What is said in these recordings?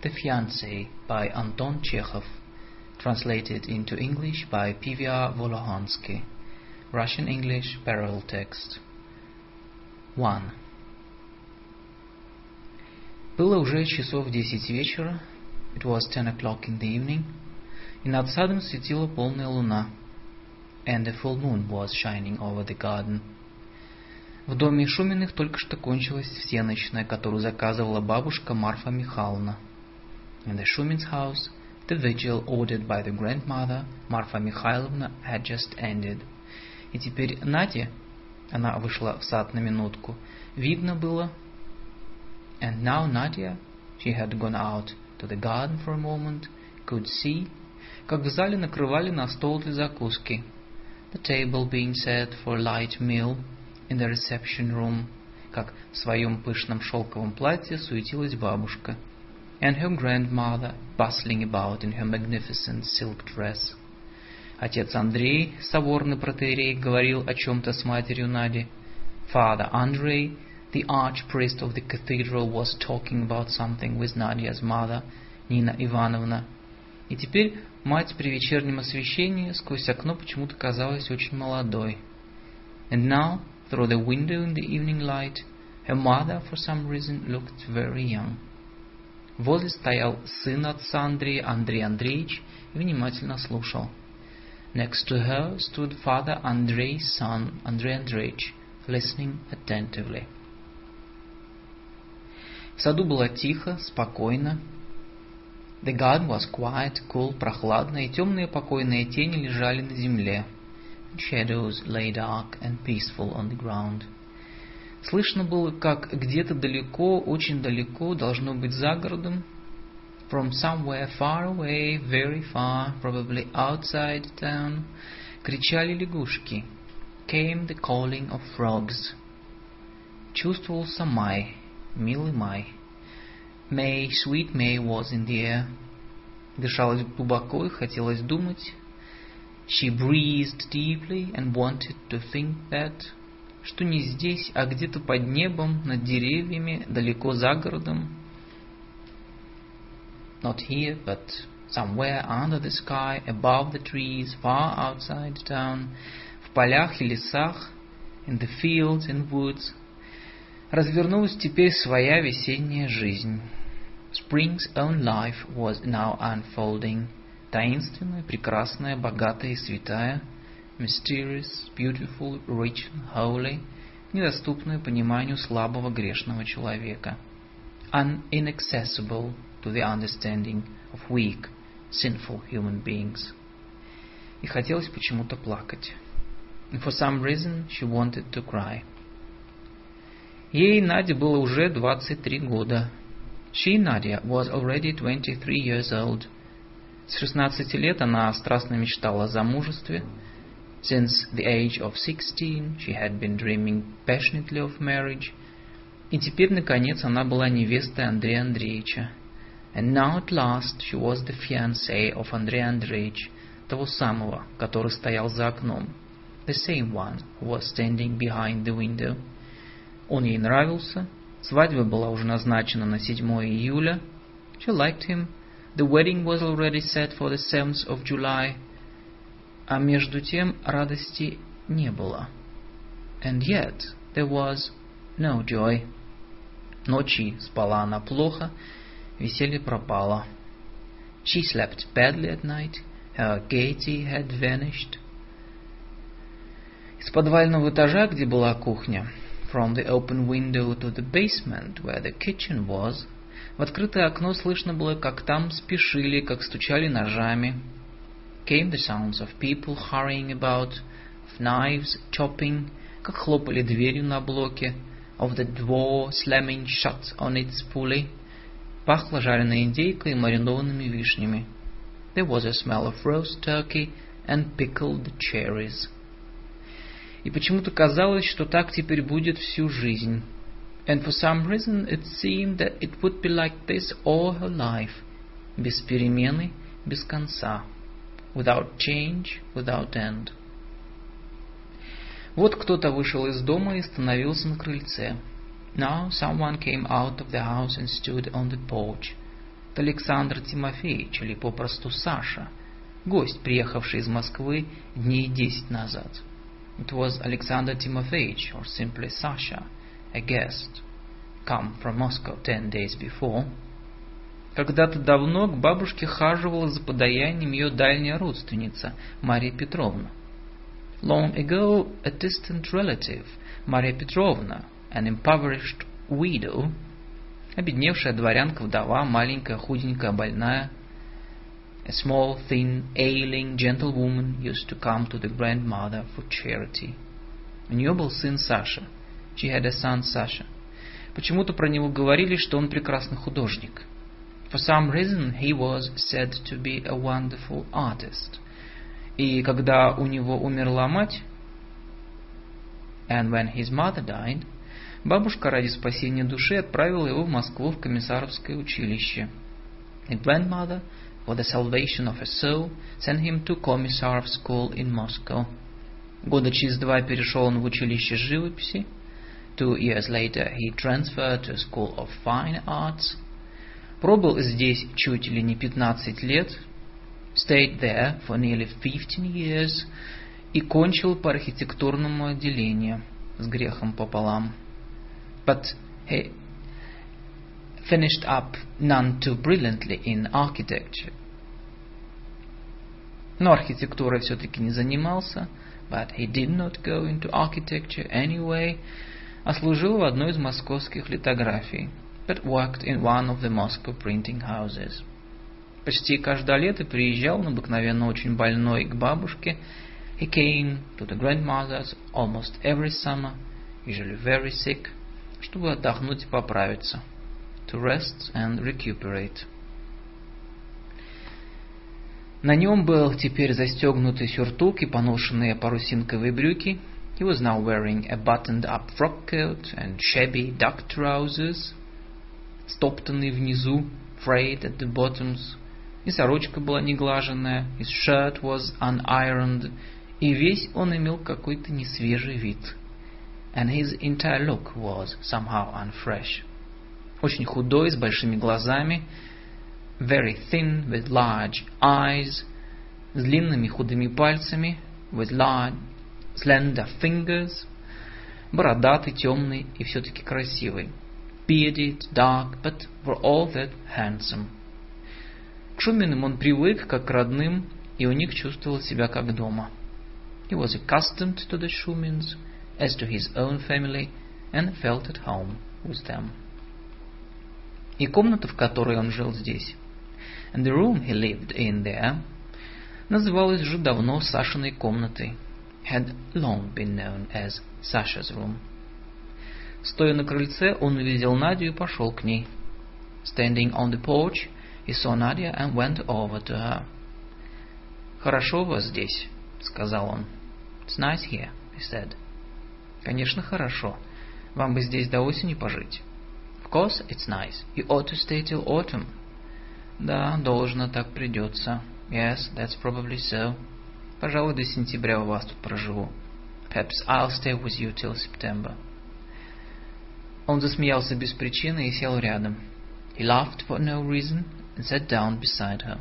The Fiancé by Anton Chekhov, translated into English by P.V.R. Volohansky. Russian-English parallel text. 1. Было уже часов 10 вечера. It was 10 o'clock in the evening. И над садом светила полная луна. And a full moon was shining over the garden. В доме Шуминых только что кончилась всенощная, которую заказывала бабушка Марфа Михайловна. In the Shumins' house, the vigil ordered by the grandmother Marfa Mikhailovna had just ended. И теперь Наде, она вышла в сад на минутку, видно было. And now Nadia, she had gone out to the garden for a moment, could see, как в зале накрывали на стол для закуски. The table being set for a light meal in the reception room, как в своем пышном шелковом платье суетилась бабушка. And her grandmother bustling about in her magnificent silk dress. Отец Андрей, соборный протоиерей, говорил о чем-то с матерью Нади. Father Andrei, the archpriest of the cathedral, was talking about something with Nadia's mother, Nina Ivanovna. И теперь мать при вечернем освещении сквозь окно почему-то казалась очень молодой. And now, through the window in the evening light, her mother, for some reason, looked very young. Возле стоял сын отца Андрея, Андрей Андреевич, и внимательно слушал. Next to her stood Father Andrei's son, Andrei Andreevich, listening attentively. В саду было тихо, спокойно. The garden was quiet, cool, прохладно, и темные покойные тени лежали на земле. Shadows lay dark and peaceful on the ground. Слышно было, как где-то далеко, очень далеко, должно быть за городом, from somewhere far away, very far, probably outside town, кричали лягушки. Came the calling of frogs. Чувствовался май, милый май. May, sweet May was in the air. Дышалось глубоко и хотелось думать. She breathed deeply and wanted to think that, что не здесь, а где-то под небом, над деревьями, далеко за городом. Not here, but somewhere under the sky, above the trees, far outside town, в полях и лесах, in the fields and woods, развернулась теперь своя весенняя жизнь. Spring's own life was now unfolding, таинственная, прекрасная, богатая и святая, mysterious, beautiful, rich, holy, недоступная пониманию слабого грешного человека, inaccessible to the understanding of weak, sinful human beings. И хотелось почему-то плакать. And for some reason she wanted to cry. Ей, Наде, было уже 23 года. She, Nadia, was already 23 years old. С 16 лет она страстно мечтала о замужестве. Since the age of 16, she had been dreaming passionately of marriage. И теперь, наконец, она была невестой Андрея Андреевича. And now, at last, she was the fiancée of Andrei Andreevich, того самого, который стоял за окном. The same one who was standing behind the window. Он ей нравился. Свадьба была уже назначена на 7 июля. She liked him. The wedding was already set for the 7th of July. А между тем радости не было. And yet there was no joy. Ночи спала она плохо, веселье пропало. She slept badly at night. Her gaiety had vanished. Из подвального этажа, где была кухня, from the open window to the basement, where the kitchen was, в открытое окно слышно было, как там спешили, как стучали ножами. Came the sounds of people hurrying about, of knives chopping, как хлопали дверью на блоке, of the door slamming shut on its pulley. Пахло жареной индейкой и маринованными вишнями. There was a smell of roast turkey and pickled cherries. И почему-то казалось, что так теперь будет всю жизнь. And for some reason it seemed that it would be like this all her life, без перемены, без конца, without change, without end. Вот кто-то вышел из дома и остановился на крыльце. Now someone came out of the house and stood on the porch. Александр Тимофеевич, или попросту Саша, гость, приехавший из Москвы дней 10 назад. It was Alexander Timofeyevich, or simply Sasha, a guest, come from Moscow 10 days before. Когда-то давно к бабушке хаживала за подаянием ее дальняя родственница, Мария Петровна. Long ago, a distant relative, Maria Petrovna, an impoverished widow, обедневшая дворянка-вдова, маленькая, худенькая, больная, a small, thin, ailing gentlewoman used to come to the grandmother for charity. У нее был сын Саша. She had a son, Sasha. Почему-то про него говорили, что он прекрасный художник. For some reason, he was said to be a wonderful artist. И когда у него умерла мать, and when his mother died, бабушка ради спасения души отправила его в Москву в комиссаровское училище. The grandmother, for the salvation of her soul, sent him to Commissarov school in Moscow. Года через 2 перешел он в училище живописи. 2 years later he transferred to a school of fine arts. Пробыл здесь чуть ли не 15 лет. Stayed there for nearly 15 years. И кончил по архитектурному отделению с грехом пополам. But he finished up none too brilliantly in architecture. Но архитектурой все-таки не занимался. But he did not go into architecture anyway. А служил в одной из московских литографий. But worked in one of the Moscow printing houses. Почти каждое лето приезжал, он обыкновенно очень больной, к бабушке. He came to the grandmother's almost every summer, usually very sick, чтобы отдохнуть и поправиться. To rest and recuperate. На нем был теперь застегнутый сюртук и поношенные парусинковые брюки. He was now wearing a buttoned-up frock coat and shabby duck trousers, стоптанный внизу, frayed at the bottoms. И сорочка была неглаженная, his shirt was unironed, и весь он имел какой-то несвежий вид. And his entire look was somehow unfresh. Очень худой, с большими глазами, very thin, with large eyes, с длинными худыми пальцами, with large, slender fingers, бородатый, темный и все-таки красивый. Bearded, dark, but for all that handsome. К Шуминым он привык, как к родным, и у них чувствовал себя как дома. He was accustomed to the Shumins, as to his own family, and felt at home with them. И комната, в которой он жил здесь, and the room he lived in there, называлась уже давно Сашиной комнатой, had long been known as Sasha's room. Стоя на крыльце, он увидел Надю и пошел к ней. Standing on the porch, he saw Nadia and went over to her. «Хорошо у вас здесь», — сказал он. «It's nice here», he said. «Конечно, хорошо. Вам бы здесь до осени пожить». «Of course, it's nice. You ought to stay till autumn». «Да, должно, так придется». «Yes, that's probably so». «Пожалуй, до сентября у вас тут проживу». «Perhaps I'll stay with you till September». Он засмеялся без причины и сел рядом. He laughed for no reason and sat down beside her.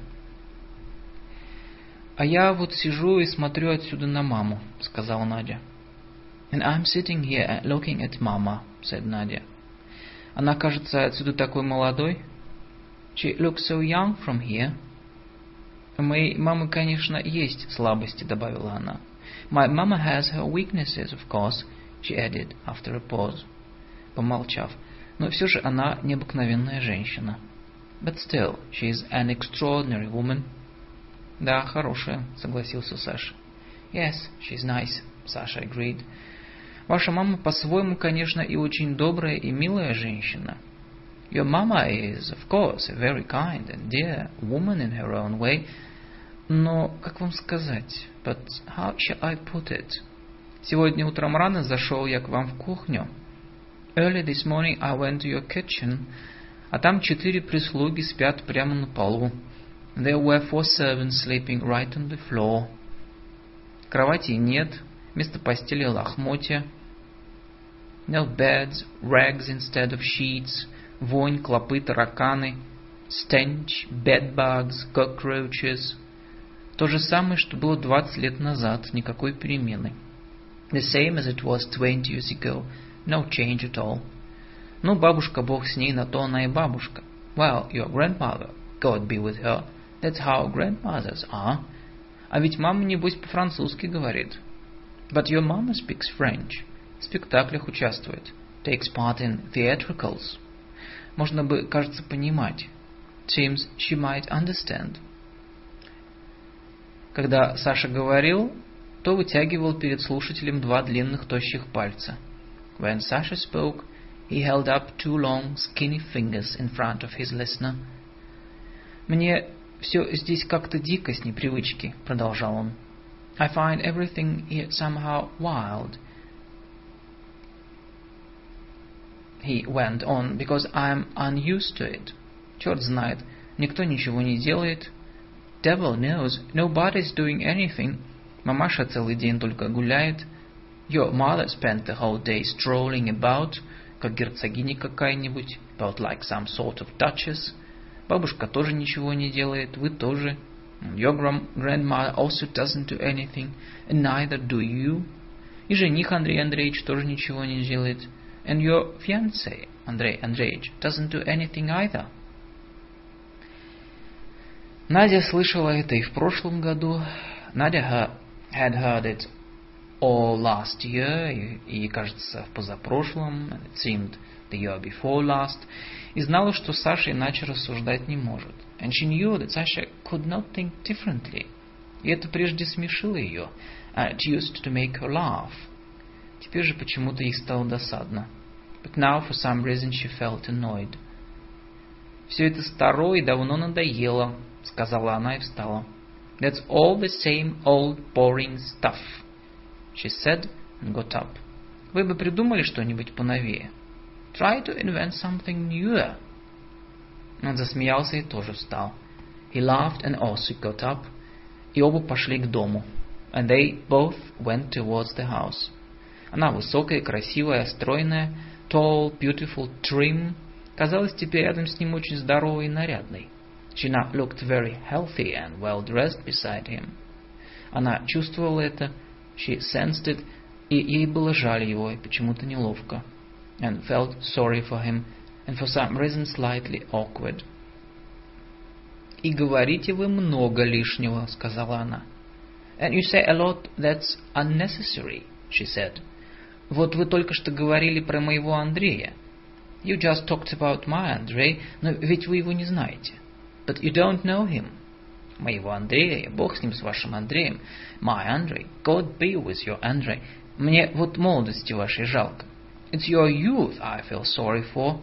«А я вот сижу и смотрю отсюда на маму», — сказала Надя. «And I'm sitting here looking at Mama», — said Nadia. «Она кажется отсюда такой молодой». «She looks so young from here». «У моей мамы, конечно, есть слабости», — добавила она. «My mama has her weaknesses, of course», — she added after a pause, помолчав. «Но все же она необыкновенная женщина». «But still, she is an extraordinary woman». «Да, хорошая», — согласился Саша. «Yes, she's nice», — Саша agreed. «Ваша мама по-своему, конечно, и очень добрая и милая женщина». «Your mama is, of course, a very kind and dear woman in her own way». «Но, как вам сказать? But how shall I put it? Сегодня утром рано зашел я к вам в кухню. Early this morning I went to your kitchen, а там 4 прислуги спят прямо на полу. There were 4 servants sleeping right on the floor. Кроватей нет, вместо постели лохмотья. No beds, rags instead of sheets, вонь, клопы, тараканы. stench, bedbugs, cockroaches. То же самое, что было 20 лет назад, никакой перемены. The same as it was 20 years ago, no change at all. Ну, бабушка, Бог с ней, на то она и бабушка. Well, your grandmother, God be with her, that's how grandmothers are. А ведь мама, небось, по-французски говорит. But your mama speaks French. В спектаклях участвует. Takes part in theatricals. Можно бы, кажется, понимать. Seems she might understand. Когда Саша говорил, то вытягивал перед слушателем 2 длинных тощих пальца. When Sasha spoke, he held up 2 long, skinny fingers in front of his listener. Мне все здесь как-то дико с непривычки, продолжал он. I find everything here somehow wild. He went on, because I'm unused to it. Черт знает, никто ничего не делает. Devil knows, nobody's doing anything. Мамаша целый день только гуляет. Your mother spent the whole day strolling about, как герцогиня какая-нибудь, about like some sort of duchess. Бабушка тоже ничего не делает, вы тоже. Your grandmother also doesn't do anything, and neither do you. И жених Андрей Андреевич тоже ничего не делает. And your fiancé, Андрей Андреевич, doesn't do anything either. Надя слышала это и в прошлом году. Надя had heard it all last year, и, кажется, в позапрошлом, it seemed the year before last, и знала, что Саша иначе рассуждать не может. And she knew that Sasha could not think differently. И это прежде смешило ее. It used to make her laugh. Теперь же почему-то ей стало досадно. But now, for some reason, she felt annoyed. «Все это старо и давно надоело», — сказала она и встала. «That's all the same old boring stuff», she said and got up. «Вы бы придумали что-нибудь поновее». «Try to invent something newer». Он засмеялся и тоже встал. He laughed and also got up. И оба пошли к дому. And they both went towards the house. Она высокая, красивая, стройная, tall, beautiful, trim, казалась теперь рядом с ним очень здоровой и нарядной. She now looked very healthy and well-dressed beside him. Она чувствовала это, she sensed it, и ей было жаль его, и почему-то неловко. And felt sorry for him, and for some reason slightly awkward. «И говорите вы много лишнего», — сказала она. «And you say a lot that's unnecessary», she said. «Вот вы только что говорили про моего Андрея. You just talked about my Andrei, но ведь вы его не знаете. But you don't know him. Моего Андрея, Бог с ним, с вашим Андреем. My Andrei, God be with your Andrei. Мне вот молодости вашей жалко. It's your youth I feel sorry for».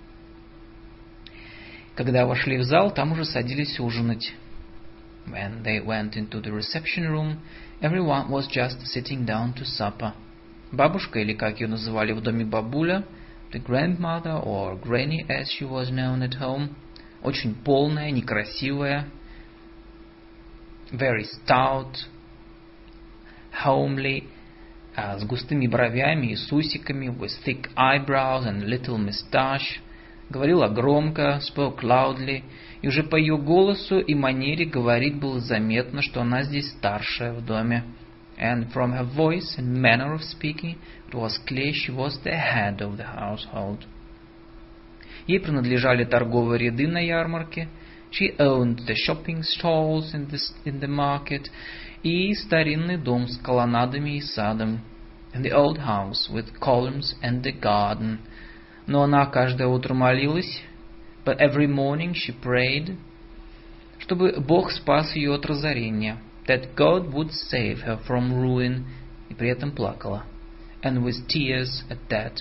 Когда вошли в зал, там уже садились ужинать. When they went into the reception room, everyone was just sitting down to supper. Бабушка, или как ее называли в доме бабуля, the grandmother or granny as she was known at home, очень полная, некрасивая, very stout, homely, с густыми бровями и с усиками, with thick eyebrows and little moustache, говорила громко, spoke loudly, и уже по ее голосу и манере говорить было заметно, что она здесь старшая в доме. And from her voice and manner of speaking, it was clear she was the head of the household. Ей принадлежали торговые ряды на ярмарке, she owned the shopping stalls in the market, и старинный дом с колоннадами и садом, and the old house with columns and the garden. Но она каждое утро молилась, but every morning she prayed, чтобы Бог спас ее от разорения, that God would save her from ruin, и при этом плакала, and with tears at that.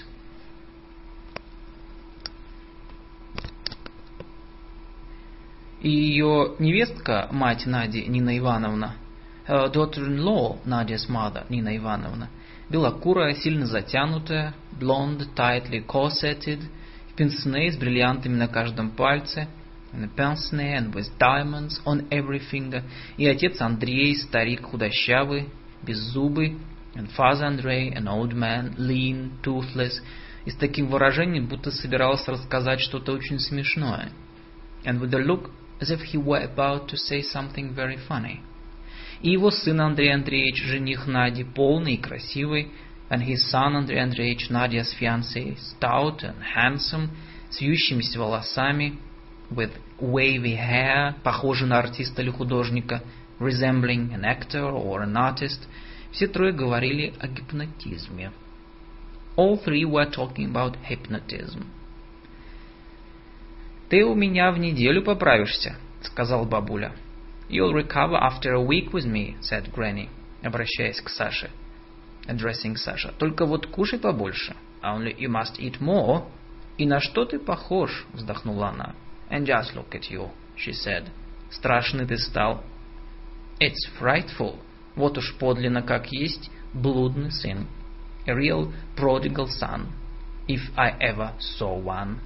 И ее невестка, мать Нади, Нина Ивановна, her daughter-in-law, Nadia's mother, Нина Ивановна, белокурая, сильно затянутая, blonde, tightly corseted, в пенсне с бриллиантами на каждом пальце, in a pince and with diamonds on every finger, и отец Андрей, старик худощавый, беззубый, and father Andrei, an old man, lean, toothless, и с таким выражением, будто собирался рассказать что-то очень смешное. and with a look as if he were about to say something very funny. И его сын Андрей Андреевич, жених Нади, полный и красивый, and his son Андрей Андреевич, Nadia's fiancé, stout and handsome, с вьющимися волосами, with wavy hair, похожий на артиста или художника, resembling an actor or an artist. Все трое говорили о гипнотизме. All three were talking about hypnotism. «Ты у меня в неделю поправишься», — сказал бабуля. «You'll recover after a week with me», — said Granny, обращаясь к Саше, addressing Sasha. «Только вот кушай побольше. Only you must eat more». «И на что ты похож?» — вздохнула она. «And just look at you», — she said. «Страшный ты стал». «It's frightful». Вот уж подлинно как есть блудный сын. A real prodigal son, if I ever saw one.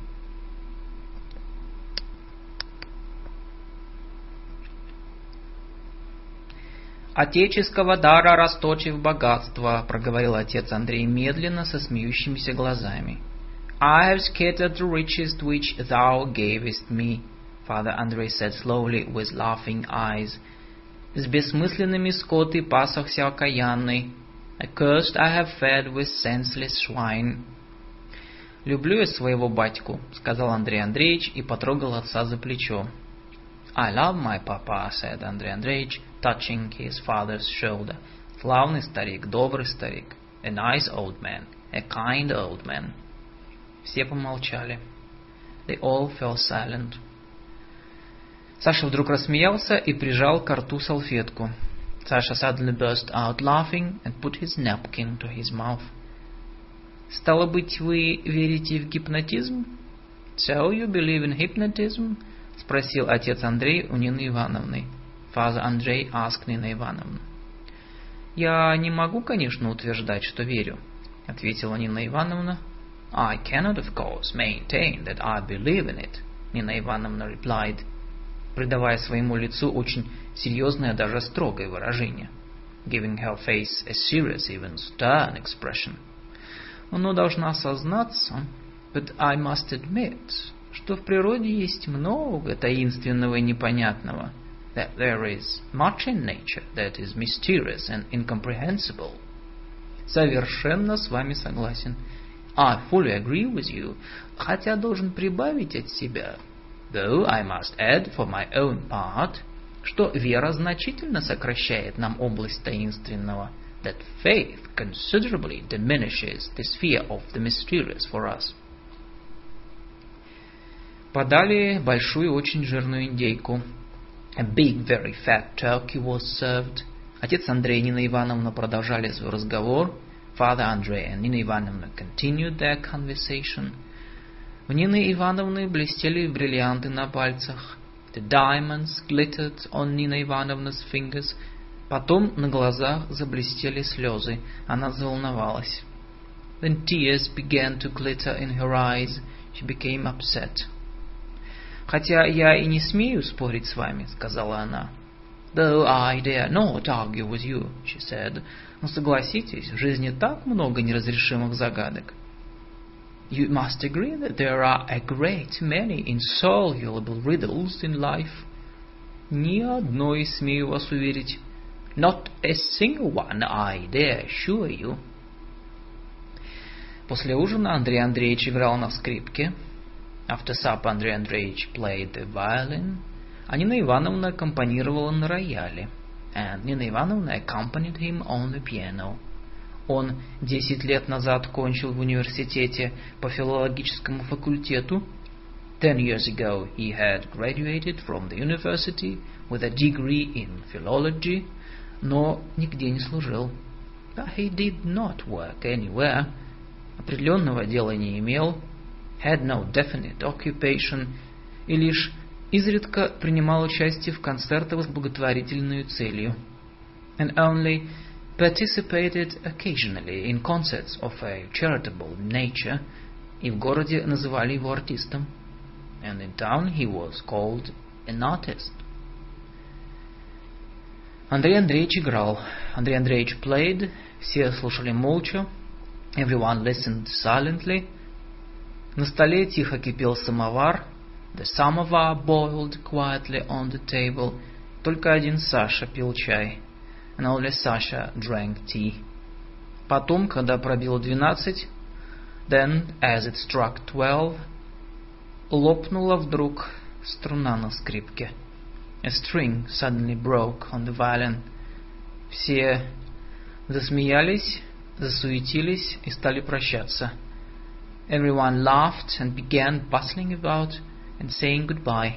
«Отеческого дара расточив богатство», — проговорил отец Андрей медленно, со смеющимися глазами. «I have scattered the riches which thou gavest me», — Father Andrei said slowly, with laughing eyes. «С бессмысленными скот и пасохся окаянный. Accursed I have fed with senseless swine». «Люблю я своего батьку», — сказал Андрей Андреевич и потрогал отца за плечо. «I love my papa», — said Андрей Андреевич, touching his father's shoulder. «Славный старик, добрый старик. A nice old man, a kind old man». Все помолчали. They all fell silent. Саша вдруг рассмеялся и прижал к рту салфетку. Sasha suddenly burst out laughing and put his napkin to his mouth. «Стало быть, вы верите в гипнотизм?» «So you believe in hypnotism?» — спросил отец Андрей у Нины Ивановны. Father Andrei asked Nina Ivanovna. «Я не могу, конечно, утверждать, что верю», — ответила Нина Ивановна. «I cannot, of course, maintain that I believe in it», — Нина Ивановна replied, придавая своему лицу очень серьезное, даже строгое выражение, giving her face a serious, even stern expression. «Но должна сознаться, but I must admit, что в природе есть много таинственного и непонятного, that there is much in nature that is mysterious and incomprehensible». «Совершенно с вами согласен». «I fully agree with you», хотя должен прибавить от себя, though I must add for my own part, что вера значительно сокращает нам область таинственного, that faith considerably diminishes the sphere of the mysterious for us. Подали большую, очень жирную индейку. A big, very fat turkey was served. Отец Андрей и Нина Ивановна продолжали свой разговор. Father Andrei and Nina Ivanovna continued their conversation. У Нины Ивановны блестели бриллианты на пальцах. The diamonds glittered on Nina Ivanovna's fingers. Потом на глазах заблестели слезы. Она заволновалась. Then tears began to glitter in her eyes. She became upset. «Хотя я и не смею спорить с вами», — сказала она. «Though I dare not argue with you», — she said. «Но согласитесь, в жизни так много неразрешимых загадок». «You must agree that there are a great many insoluble riddles in life». «Ни одной, смею вас уверить». «Not a single one, I dare assure you». После ужина Андрей Андреевич играл на скрипке. After supper Андрей Андреевич played the violin, а Нина Ивановна аккомпанировала на рояле, and Nina Ivanovna accompanied him on the piano. Он 10 лет назад кончил в университете по филологическому факультету. 10 years ago he had graduated from the university with a degree in philology, но нигде не служил. But he did not work anywhere. Определенного дела не имел. Had no definite occupation, и лишь изредка принимал участие в концертах с благотворительной целью, and only participated occasionally in concerts of a charitable nature, и в городе называли его артистом, and in town he was called an artist. Андрей Андреевич играл. Андрей Андреевич played, все слушали молча, everyone listened silently. На столе тихо кипел самовар. The samovar boiled quietly on the table. Только один Саша пил чай. And only Sasha drank tea. Потом, когда пробило 12, then, as it struck 12, лопнула вдруг струна на скрипке. A string suddenly broke on the violin. Все засмеялись, засуетились и стали прощаться. Everyone laughed and began bustling about and saying goodbye.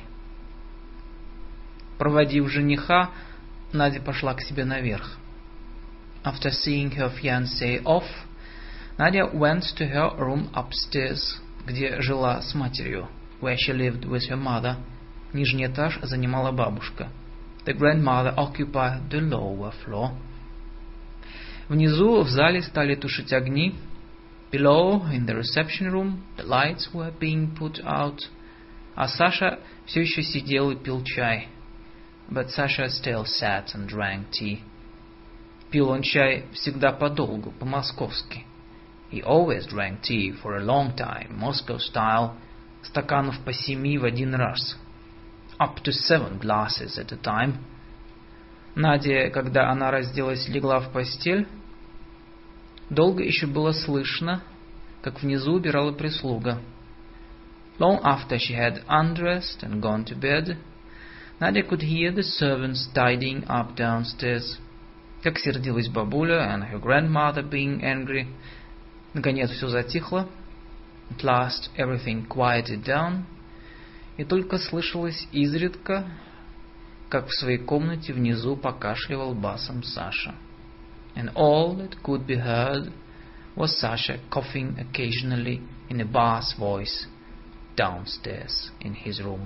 Проводив жениха, Надя пошла к себе наверх. After seeing her fiancé off, Nadia went to her room upstairs, где жила с матерью, where she lived with her mother. Нижний этаж занимала бабушка. The grandmother occupied the lower floor. Внизу в зале стали тушить огни. Below, in the reception room, the lights were being put out. А Саша все еще сидел и пил чай. But Sasha still sat and drank tea. Пил он чай всегда подолгу, по-московски. He always drank tea for a long time, Moscow style, стаканов по 7 в один раз. Up to 7 glasses at a time. Надя, когда она разделась, легла в постель. Долго еще было слышно, как внизу убирала прислуга. Long after she had undressed and gone to bed, Nadia could hear the servants tidying up downstairs. Как сердилась бабуля and her grandmother being angry. Наконец все затихло. At last everything quieted down. И только слышалось изредка, как в своей комнате внизу покашливал басом Саша. And all that could be heard was Sasha coughing occasionally in a bass voice downstairs in his room.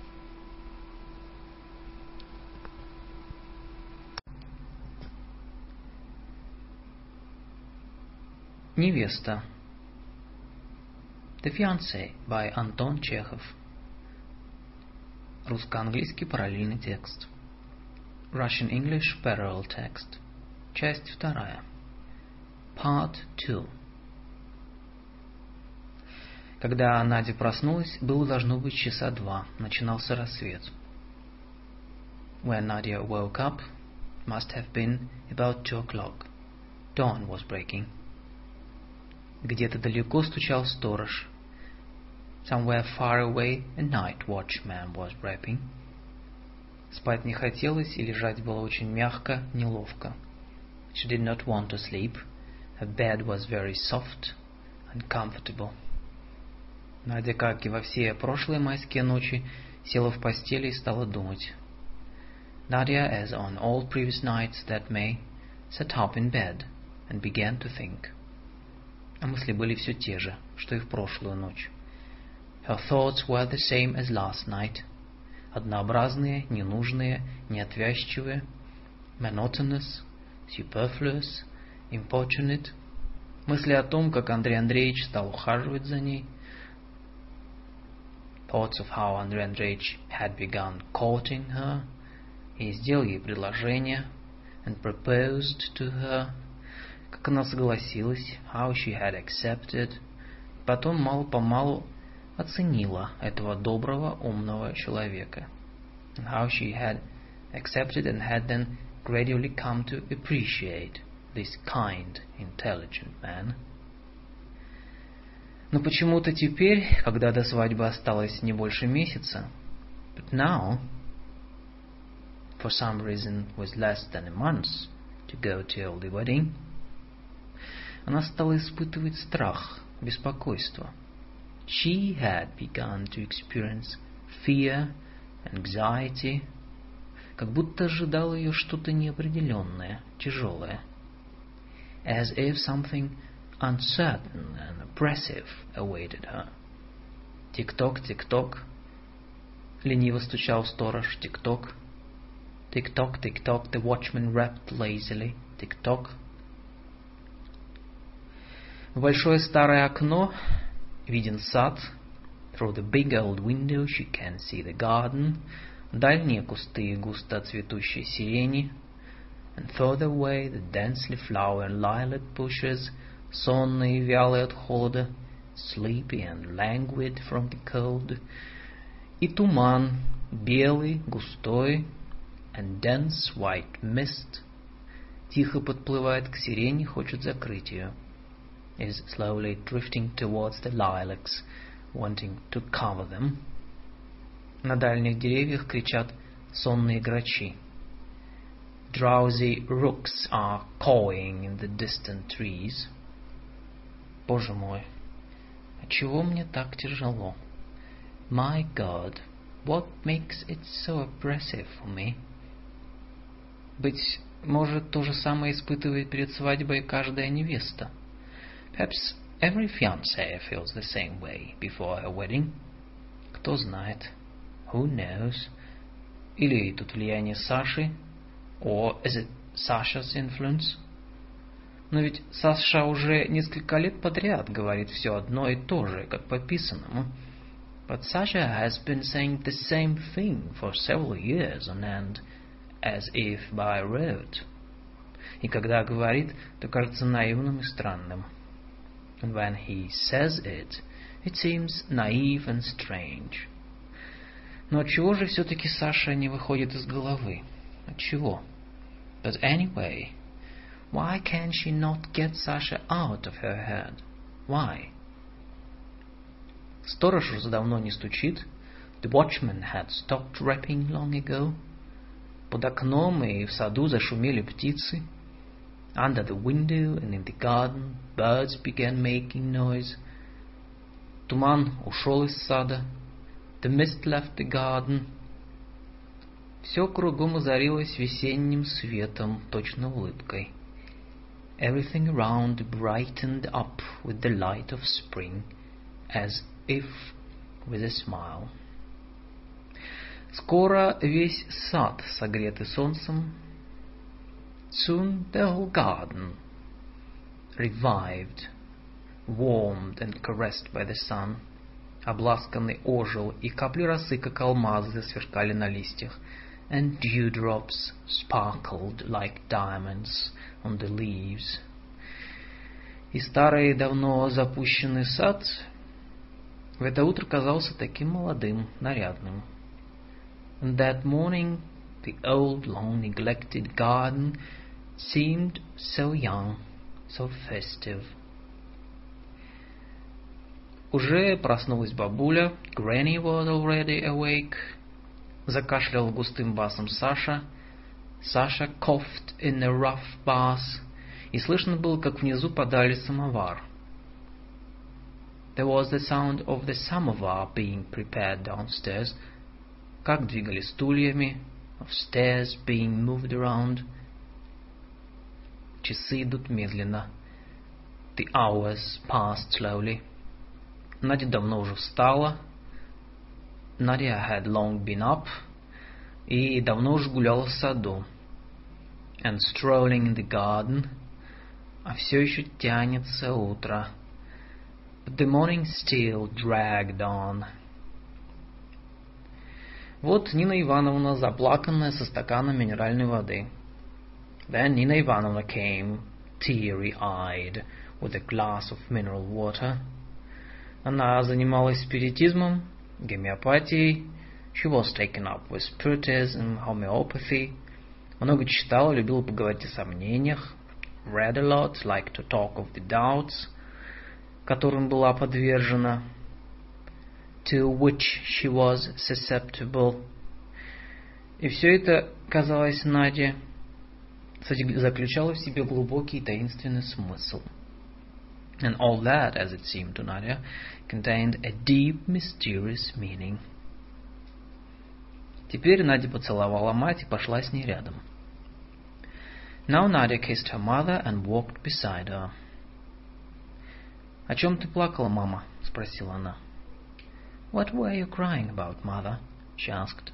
Невеста. The Fiancé by Anton Chekhov. Русско-английский параллельный текст. Russian-English parallel text. Часть вторая. Part 2. Когда Надя проснулась, было должно быть часа 2. Начинался рассвет. When Nadia woke up, it must have been about 2 o'clock. Dawn was breaking. Где-то далеко стучал сторож. Somewhere far away a night watchman was rapping. Спать не хотелось, и лежать было очень мягко, неловко. She did not want to sleep. Her bed was very soft and comfortable. Надя, как и во все прошлые майские ночи, села в постели и стала думать. Nadia, as on all previous nights that May, sat up in bed and began to think. А мысли были все те же, что и в прошлую ночь. Her thoughts were the same as last night. Однообразные, ненужные, неотвязчивые, monotonous, superfluous, importunate. Мысли о том, как Андрей Андреевич стал ухаживать за ней. Thoughts of how Andrei Andreevich had begun courting her, и сделал ей предложение, and proposed to her, как она согласилась, how she had accepted, потом мало-помалу оценила этого доброго, умного человека, and how she had accepted and had then gradually come to appreciate this kind, intelligent man. Но почему-то теперь, когда до свадьбы осталось не больше месяца, but now, for some reason with less than a month to go till the wedding, она стала испытывать страх, беспокойство. She had begun to experience fear, anxiety, как будто ожидало ее что-то неопределенное, тяжелое. As if something uncertain and oppressive awaited her. Тик-ток, тик-ток. Лениво стучал сторож. Тик-ток. Tick-tock, tick-tock, the watchman rapped lazily. Tick-tock. В большое старое окно виден сад. Through the big old window she can see the garden. Дальние кусты густо цветущей сирени. And further away the densely flowering lilac bushes, сонные и вялые от холода, sleepy and languid from the cold. И туман, белый, густой, and dense white mist, тихо подплывает к сирене, хочет закрыть ее, is slowly drifting towards the lilacs, wanting to cover them. На дальних деревьях кричат сонные грачи. Drowsy rooks are cawing in the distant trees. Боже мой, отчего мне так тяжело? My God, what makes it so oppressive for me? Быть может, то же самое испытывает перед свадьбой каждая невеста. Perhaps every fiancé feels the same way before her wedding. Кто знает? Who knows? Или тут влияние Саши? Or is it Sasha's influence? Но ведь Саша уже несколько лет подряд говорит все одно и то же, как по писанному. But Sasha has been saying the same thing for several years on end, as if by rote. И когда говорит, то кажется наивным и странным. And when he says it, it seems naive and strange. Но отчего же все-таки Саша не выходит из головы? Отчего? But anyway, why can she not get Sasha out of her head? Why? Сторож уже давно не стучит. The watchman had stopped rapping long ago. Под окном и в саду зашумели птицы. Under the window and in the garden, birds began making noise. Туман ушел из сада. The mist left the garden. Все кругом озарилось весенним светом, точно улыбкой. Everything around brightened up with the light of spring, as if with a smile. Скоро весь сад согретый солнцем. Soon the whole garden, revived, warmed and caressed by the sun, обласканный ожил, и капли росы, как алмазы, засверкали на листьях, and dewdrops sparkled like diamonds on the leaves. И старый, давно запущенный сад в это утро казался таким молодым, нарядным. And that morning the old, long neglected garden seemed so young, so festive. Уже проснулась бабуля. Granny was already awake. Закашлял густым басом Саша. Sasha coughed in a rough bass. И слышно было, как внизу подали самовар. There was the sound of the samovar being prepared downstairs. Как двигали стульями. Of stairs being moved around. Часы идут медленно. The hours passed slowly. Надя давно уже встала. Nadia had long been up. И давно уже гуляла в саду. And strolling in the garden. А все еще тянется утро. But the morning still dragged on. Вот Нина Ивановна, заплаканная, со стаканом минеральной воды. Then Nina Ivanovna came, teary-eyed, with a glass of mineral water. Она занималась спиритизмом, гомеопатией. She was taken up with spiritism, homeopathy. Много читала, любила поговорить о сомнениях. Read a lot, liked to talk of the doubts, которым была подвержена. To which she was susceptible. И все это, казалось Наде, заключало в себе глубокий таинственный смысл. And all that, as it seemed to Nadia, contained a deep, mysterious meaning. Теперь Надя поцеловала мать и пошла с ней рядом. Now Nadia kissed her mother and walked beside her. «О чем ты плакала, мама?» — спросила она. What were you crying about, mother? She asked.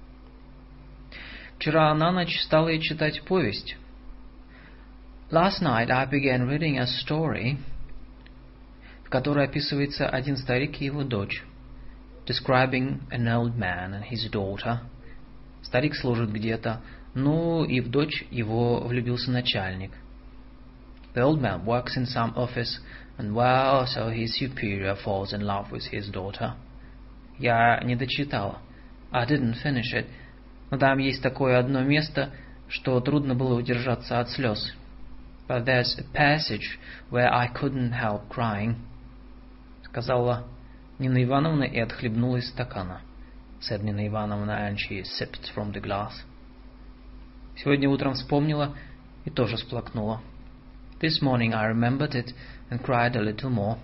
Вчера на ночь стала ей читать повесть. Last night I began reading a story, в которой описывается один старик и его дочь, describing an old man and his daughter. Старик служит где-то, ну и в дочь его влюбился начальник. The old man works in some office, and well, so his superior falls in love with his daughter. Я не дочитала. I didn't finish it. Но там есть такое одно место, что трудно было удержаться от слез. But there's a passage where I couldn't help crying. Сказала Нина Ивановна и отхлебнула из стакана. Said Nina Ivanovna, and she sipped from the glass. Сегодня утром вспомнила и тоже всплакнула. This morning I remembered it and cried a little more.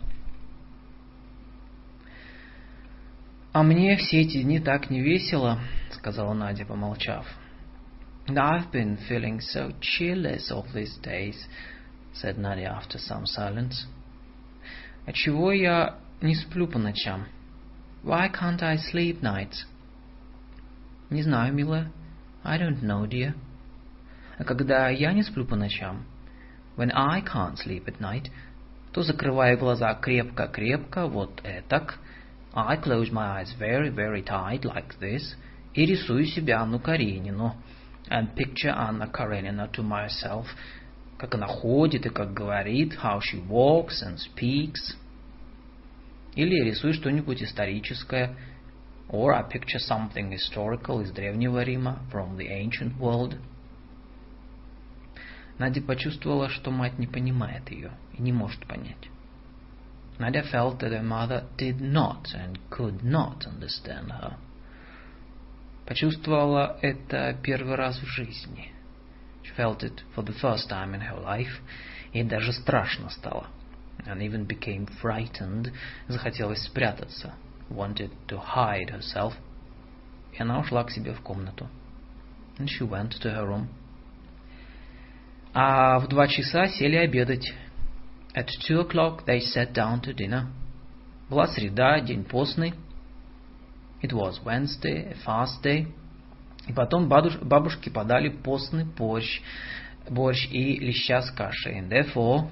«А мне все эти дни так не весело», — сказала Надя, помолчав. «And I've been feeling so cheerless all these days», — said Nadia after some silence. «Отчего я не сплю по ночам?» «Why can't I sleep nights?» «Не знаю, милая. I don't know, dear». «А когда я не сплю по ночам?» «When I can't sleep at night», то закрываю глаза крепко-крепко, вот этак. I close my eyes very, very tight, like this, и рисую себе Анну Каренину, and picture Anna Karenina to myself, как она ходит и как говорит, how she walks and speaks. Или рисую что-нибудь историческое, or I picture something historical из Древнего Рима, from the ancient world. Надя почувствовала, что мать не понимает ее и не может понять. Nadia felt that her mother did not and could not understand her. Почувствовала это первый раз в жизни. She felt it for the first time in her life. Ей даже страшно стало. And even became frightened. Захотелось спрятаться. Wanted to hide herself. И она ушла к себе в комнату. And she went to her room. А в 2 часа сели обедать. At 2 o'clock they sat down to dinner. Была среда, день постный. It was Wednesday, a fast day. И потом бабушке подали постный борщ и леща с кашей. And therefore,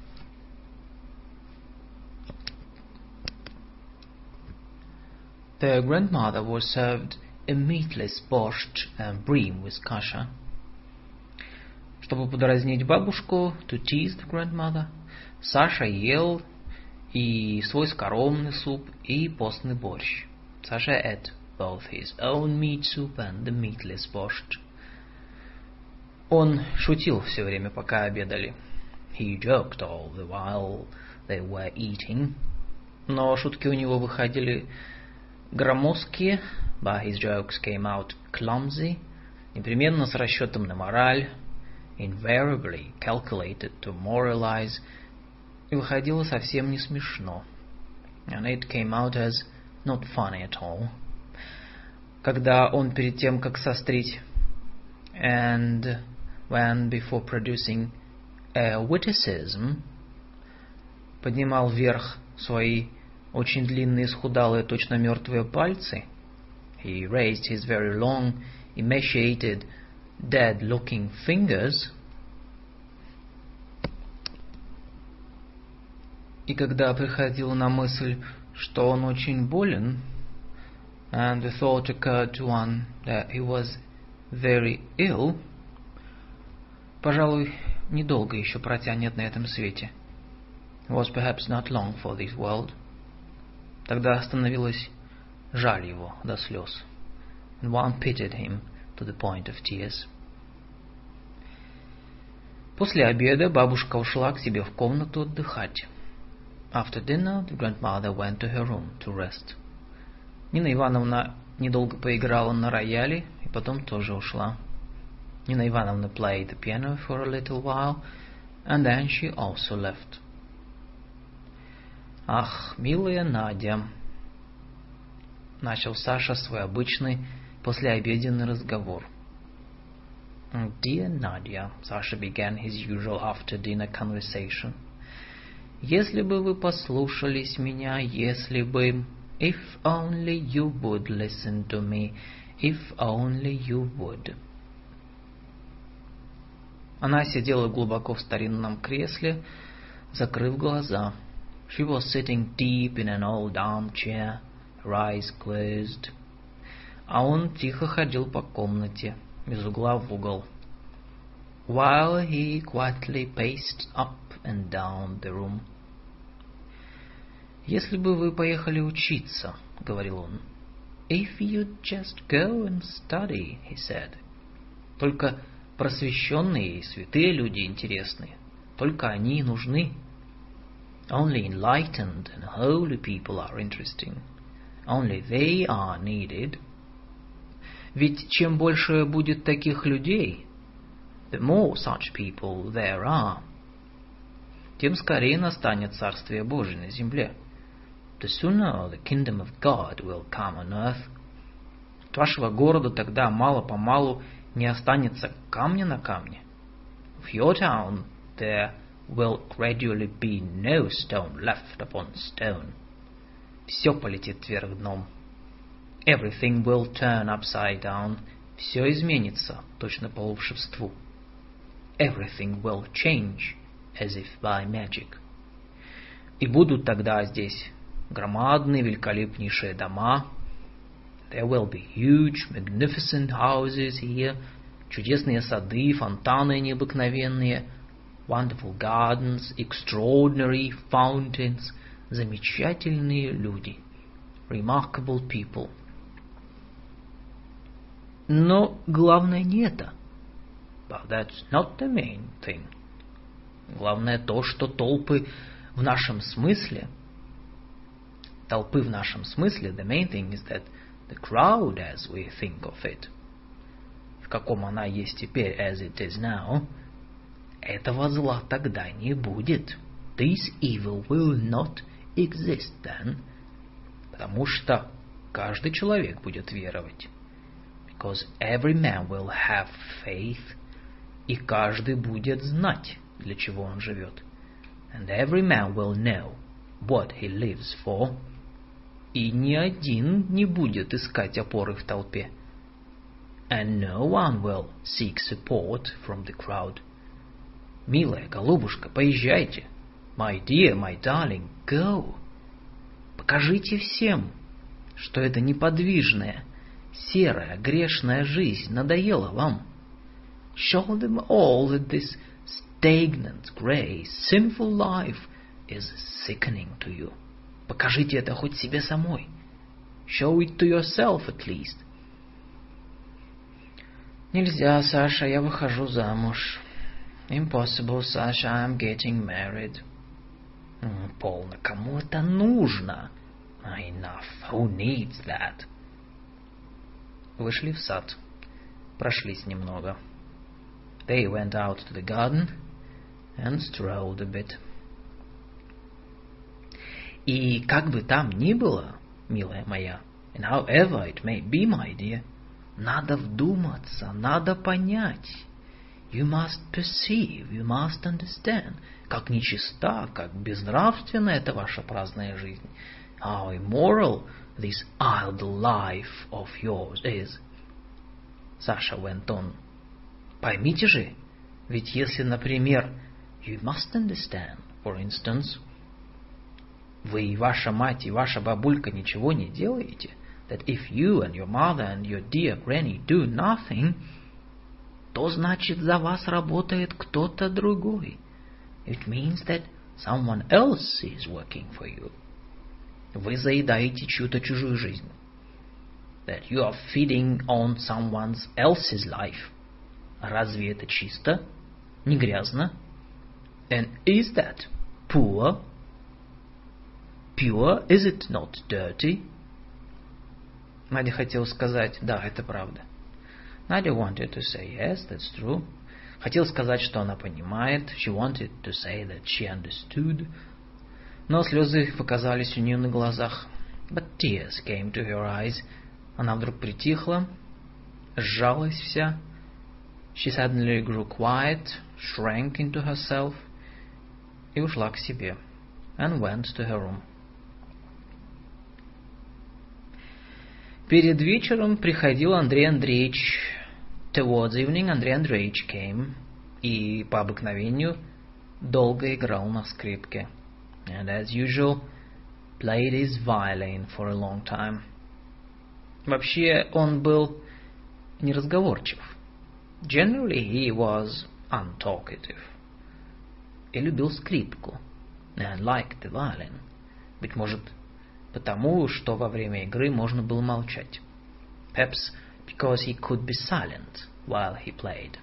their grandmother was served a meatless borscht and bream with kasha. Чтобы подразнить бабушку, to tease the grandmother, Саша ел и свой скоромный суп, и постный борщ. Саша ate both his own meat soup and the meatless borscht. Он шутил все время, пока обедали. He joked all the while they were eating. Но шутки у него выходили громоздкие, but his jokes came out clumsy, непременно с расчетом на мораль, invariably calculated to moralize, и выходило совсем не смешно. And it came out as not funny at all. Когда он перед тем, как сострить, and when before producing a witticism, поднимал вверх свои очень длинные, исхудалые, точно мертвые пальцы, he raised his very long, emaciated, dead-looking fingers. И когда приходило на мысль, что он очень болен, and the thought occurred to one that he was very ill, пожалуй, недолго еще протянет на этом свете. It was perhaps not long for this world. Тогда становилось жаль его до слез. And one pitied him to the point of tears. После обеда бабушка ушла к себе в комнату отдыхать. After dinner, the grandmother went to her room to rest. Нина Ивановна недолго поиграла на рояле и потом тоже ушла. Nina Ivanovna played the piano for a little while, and then she also left. «Ах, милая Надя!» Начал Саша свой обычный послеобеденный разговор. «Dear Nadia», Sasha began his usual after-dinner conversation. «Если бы вы послушались меня, если бы... If only you would listen to me, if only you would». Она сидела глубоко в старинном кресле, закрыв глаза. She was sitting deep in an old armchair, her eyes closed. А он тихо ходил по комнате, из угла в угол. While he quietly paced up and down the room. «Если бы вы поехали учиться, — говорил он, If you'd just go and study, he said. Только просвещенные и святые люди интересны. Только они и нужны. Only enlightened and holy people are interesting. Only they are needed. Ведь чем больше будет таких людей, the more such people there are, тем скорее настанет Царствие Божие на земле. The sooner the kingdom of God will come on earth. От вашего города тогда мало-помалу не останется камня на камне. Of your town there will gradually be no stone left upon stone. Все полетит вверх дном. Everything will turn upside down. Все изменится, точно по волшебству. Everything will change, as if by magic. И будут тогда здесь громадные, великолепнейшие дома. There will be huge, magnificent houses here, чудесные сады, фонтаны необыкновенные, wonderful gardens, extraordinary fountains, замечательные люди, remarkable people. Но главное не это. But that's not the main thing. Главное то, что толпы в нашем смысле, the main thing is that the crowd as we think of it, в каком она есть теперь, as it is now, этого зла тогда не будет. This evil will not exist then. Потому что каждый человек будет веровать. Because every man will have faith. И каждый будет знать, для чего он живет. And every man will know what he lives for. И ни один не будет искать опоры в толпе. And no one will seek support from the crowd. Милая голубушка, поезжайте. My dear, my darling, go. Покажите всем, что эта неподвижная, серая, грешная жизнь надоела вам. Show them all that this stagnant, grey, sinful life is sickening to you. Покажите это хоть себе самой. Show it to yourself at least. Нельзя, Саша, я выхожу замуж. Impossible, Sasha, I'm getting married. Полно, кому это нужно? Enough, who needs that? Вышли в сад, прошлись немного. They went out to the garden and strolled a bit. И как бы там ни было, милая моя, and however it may be, my dear, надо вдуматься, надо понять. You must perceive, you must understand, как нечиста, как безнравственна эта ваша праздная жизнь. How immoral this idle life of yours is. Саша went on. Поймите же, ведь если, например, you must understand, for instance, вы и ваша мать и ваша бабулька ничего не делаете, that if you and your mother and your dear granny do nothing, то значит за вас работает кто-то другой. It means that someone else is working for you. Вы заедаете чью-то чужую жизнь. That you are feeding on someone else's life. Разве это чисто? Не грязно? And is that poor? Pure, is it not dirty? Надя хотела сказать, да, это правда. Nadia wanted to say, yes, that's true. Хотела сказать, что она понимает. She wanted to say that she understood. Но слезы показались у нее на глазах. But tears came to her eyes. Она вдруг притихла, сжалась вся. She suddenly grew quiet, shrank into herself, и ушла к себе, and went to her room. Перед вечером приходил Андрей Андреевич. Towards evening Андрей Андреевич came, и по обыкновению долго играл на скрипке. And as usual, played his violin for a long time. Вообще он был неразговорчив. Generally he was untalkative. И любил скрипку. And liked the violin. Быть может, потому, что во время игры можно было молчать. Perhaps because he could be silent while he played.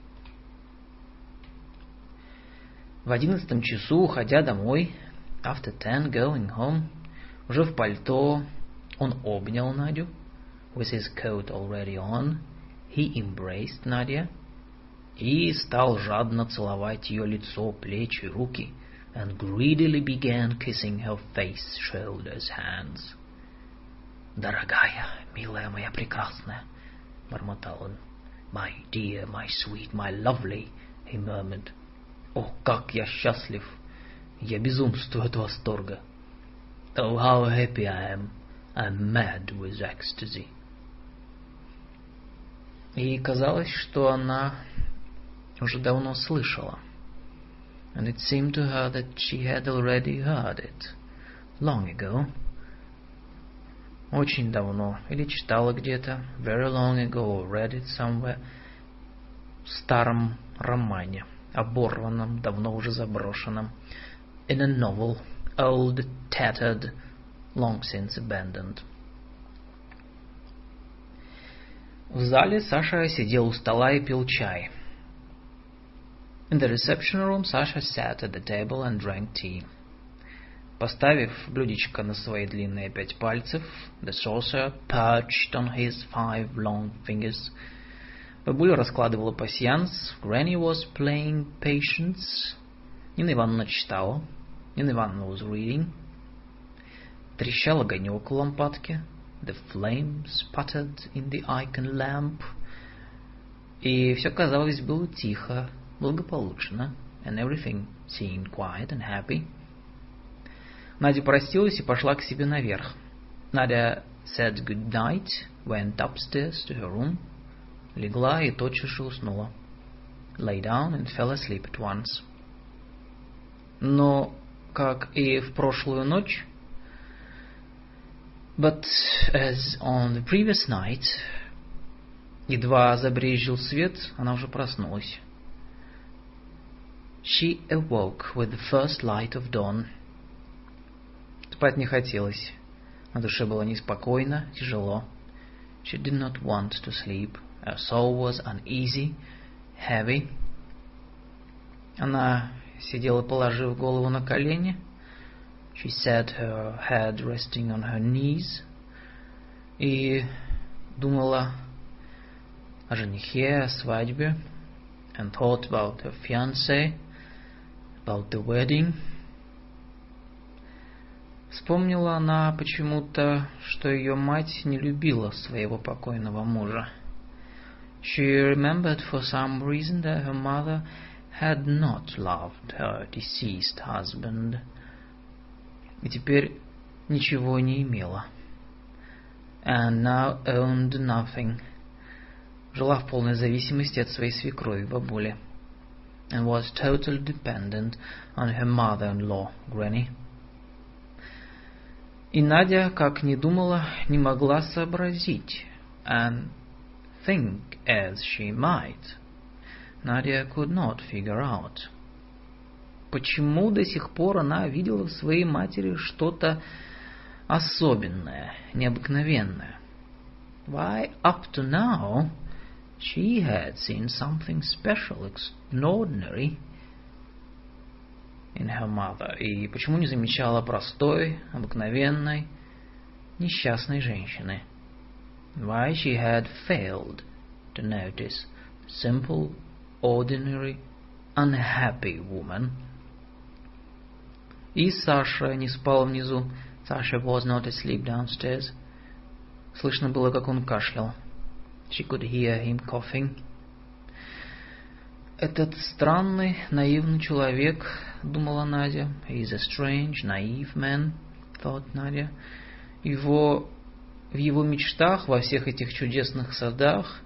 В 11 часу, уходя домой, after 10 going home, уже в пальто, он обнял Надю, with his coat already on, he embraced Nadia, и стал жадно целовать ее лицо, плечи, руки, and greedily began kissing her face, shoulders, hands. «Дорогая, милая моя прекрасная», — бормотал он. «My dear, my sweet, my lovely», — he murmured. «О, как я счастлив! Я безумствую от восторга!» «Oh, how happy I am! I'm mad with ecstasy!» И казалось, что она уже давно слышала. And it seemed to her that she had already heard it long ago. Очень давно, или читала где-то, very long ago, or read it somewhere, в старом романе, оборванном, давно уже заброшенном, in a novel, old, tattered, long since abandoned. В зале Саша сидел у стола и пил чай. In the reception room, Sasha sat at the table and drank tea. Поставив блюдечко на свои длинные 5 пальцев, the saucer perched on his 5 long fingers. Бабуля раскладывала пасьянс, Granny was playing patience. Нина Ивановна читала, Нина Ивановна was reading. Трещал огонек у лампадки, the flame sputtered in the icon lamp. И все, казалось, было тихо, благополучно, and everything seemed quiet and happy. Надя простилась и пошла к себе наверх. Надя said good night, went upstairs to her room, легла и тотчас же уснула. Lay down and fell asleep at once. Но, как и в прошлую ночь, but as on the previous night, едва забрезжил свет, она уже проснулась. She awoke with the first light of dawn. Спать не хотелось. На душе было неспокойно, тяжело. She did not want to sleep. Her soul was uneasy, heavy. Она сидела, положив голову на колени. She sat, her head resting on her knees. И думала о женихе, о свадьбе. And thought about her fiancé, about the wedding. Вспомнила она почему-то, что ее мать не любила своего покойного мужа. She remembered for some reason that her mother had not loved her deceased husband. И теперь ничего не имела. And now owned nothing. Жила в полной зависимости от своей свекрови, бабули. And was totally dependent on her mother-in-law, Granny. И Надя, как ни думала, не могла сообразить. And think as she might, Nadia could not figure out. Почему до сих пор она видела в своей матери что-то особенное, необыкновенное? Why, up to now, she had seen something special, extraordinary in her mother. И почему не замечала простой, обыкновенной, несчастной женщины? Why she had failed to notice simple, ordinary, unhappy woman. И Саша не спал внизу. Sasha was not asleep downstairs. Слышно было, как он кашлял. She could hear him coughing. Этот странный, наивный человек, думала Надя. He is a strange, naive man, thought Надя. В его мечтах, во всех этих чудесных садах,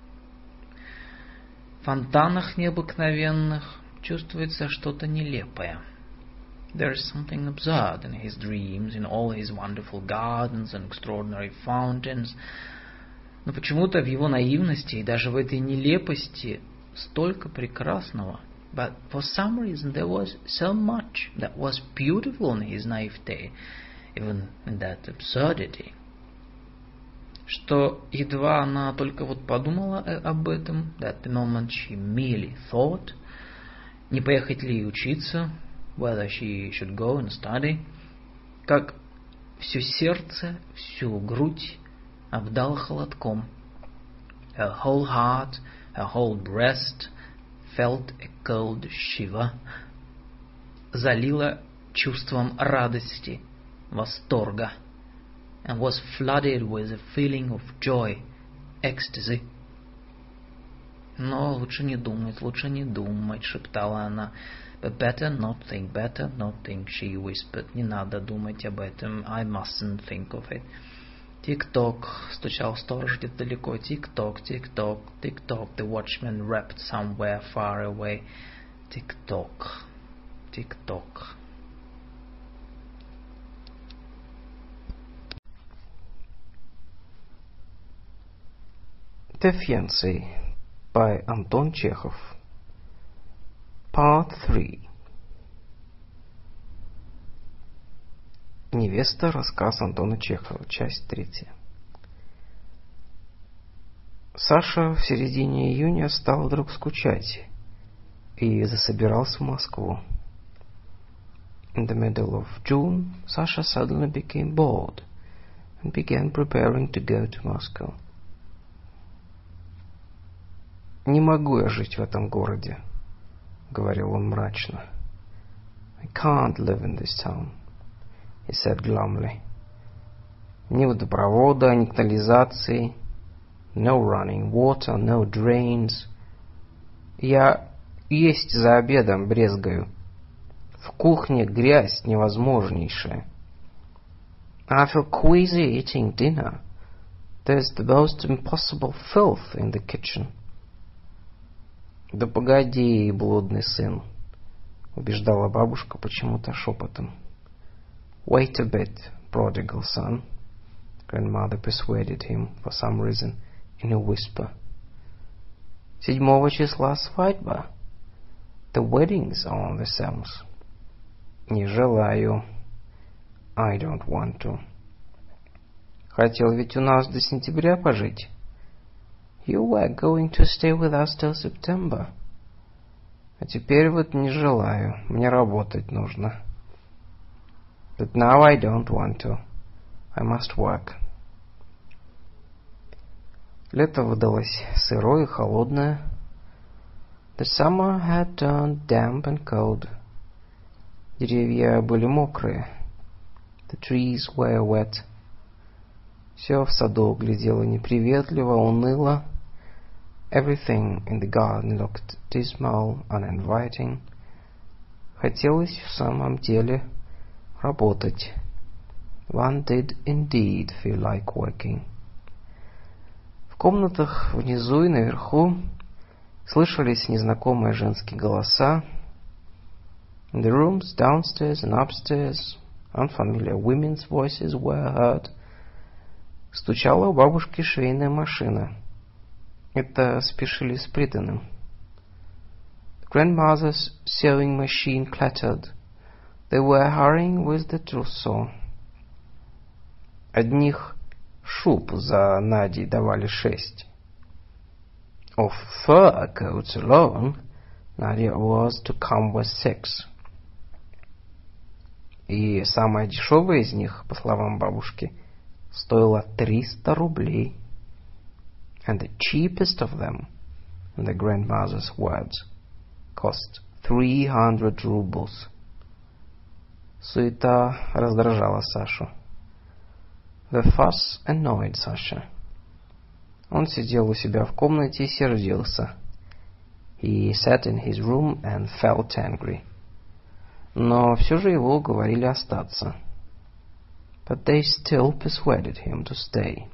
фонтанах необыкновенных, чувствуется что-то нелепое. There is something absurd in his dreams, in all his wonderful gardens and extraordinary fountains. Но почему-то в его наивности и даже в этой нелепости столько прекрасного. But for some reason there was so much that was beautiful in his naivety, even in that absurdity. Что едва она только вот подумала об этом, that the moment she merely thought, не поехать ли учиться, whether she should go and study, как все сердце, всю грудь обдало холодком. Her whole heart, her whole breast felt a cold shiver, залила чувством радости, восторга, and was flooded with a feeling of joy, ecstasy. Но лучше не думать, шептала она. But better not think, she whispered. Не надо думать об этом, I mustn't think of it. Тик-ток, стучал сторож где-то далеко. Тик-ток, тик-ток, тик-ток. The watchman rapped somewhere far away. Тик-ток, тик-ток. The Fiancé by Антон Чехов. Part 3. Невеста. Рассказ Антона Чехова. Часть 3. Саша в середине июня стал вдруг скучать и засобирался в Москву. In the middle of June, Sasha suddenly became bored and began preparing to go to Moscow. «Не могу я жить в этом городе», — говорил он мрачно. «I can't live in this town», — he said glumly. «Ни водопровода, ни канализации, no running water, no drains. Я есть за обедом брезгаю. В кухне грязь невозможнейшая. I feel queasy eating dinner. There's the most impossible filth in the kitchen». «Да погоди, блудный сын», — убеждала бабушка почему-то шепотом. «Wait a bit, prodigal son», grandmother persuaded him for some reason in a whisper. 7 числа свадьба. The weddings are on the 7th. Не желаю. I don't want to. Хотел ведь у нас до сентября пожить. You were going to stay with us till September. А теперь вот не желаю. Мне работать нужно. But now I don't want to. I must work. Лето выдалось сырое и холодное. The summer had turned damp and cold. Деревья были мокрые. The trees were wet. Все в саду глядело неприветливо, уныло. Everything in the garden looked dismal, uninviting. Хотелось в самом деле работать. One did indeed feel like working. В комнатах внизу и наверху слышались незнакомые женские голоса. In the rooms downstairs and upstairs, unfamiliar women's voices were heard. Стучала у бабушки швейная машина. Это спешили с приданым. The grandmother's sewing machine clattered. They were hurrying with the trousseau. Одних шуб за Надей давали 6. Of fur coats alone, Nadia was to come with 6. И самая дешевая из них, по словам бабушки, стоила 300 рублей. And the cheapest of them, in the grandmother's words, cost 300 rubles. Суета раздражала Сашу. The fuss annoyed Sasha. Он сидел у себя в комнате и сердился. He sat in his room and felt angry. Но все же его уговорили остаться. But they still persuaded him to stay.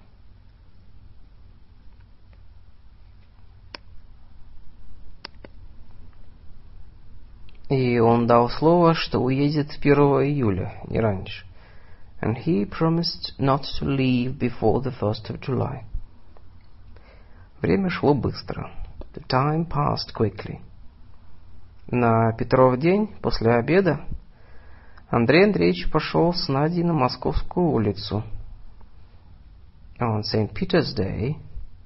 И он дал слово, что уедет 1 июля, не раньше. And he promised not to leave before the 1st of July. Время шло быстро. The time passed quickly. На Петров день, после обеда, Андрей Андреевич пошел с Надей на Московскую улицу. On St. Peter's Day,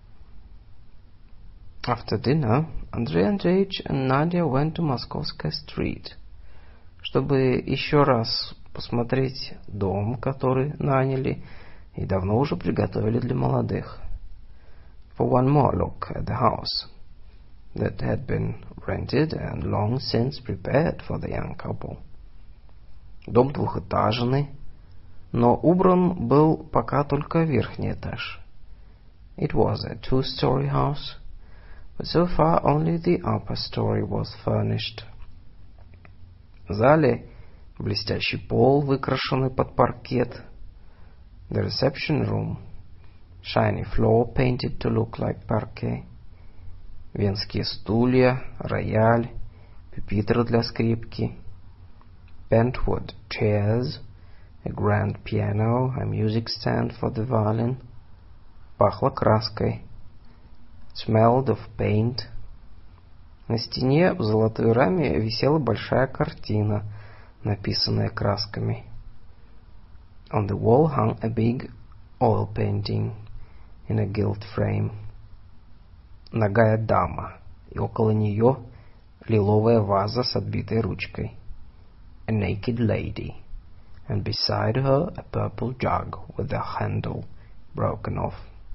after dinner, Andrei Andreevich and Nadia went to Moskovskaya Street, чтобы еще раз посмотреть дом, который наняли и давно уже приготовили для молодых. For one more look at the house that had been rented and long since prepared for the young couple. Дом двухэтажный, но убран был пока только верхний этаж. It was a two-story house, but so far only the upper story was furnished. В зале блестящий пол, выкрашенный под паркет. The reception room, shiny floor painted to look like parquet. Венские стулья, рояль, пюпитр для скрипки. Bentwood chairs, a grand piano, a music stand for the violin. Пахло краской. Smelled of paint. На стене в золотой раме висела большая картина, написанная красками. On the wall hung a big oil painting in a gilt frame. Нагая дама, и около нее лиловая ваза с отбитой ручкой. A naked lady, and beside her a purple jug with the handle broken off.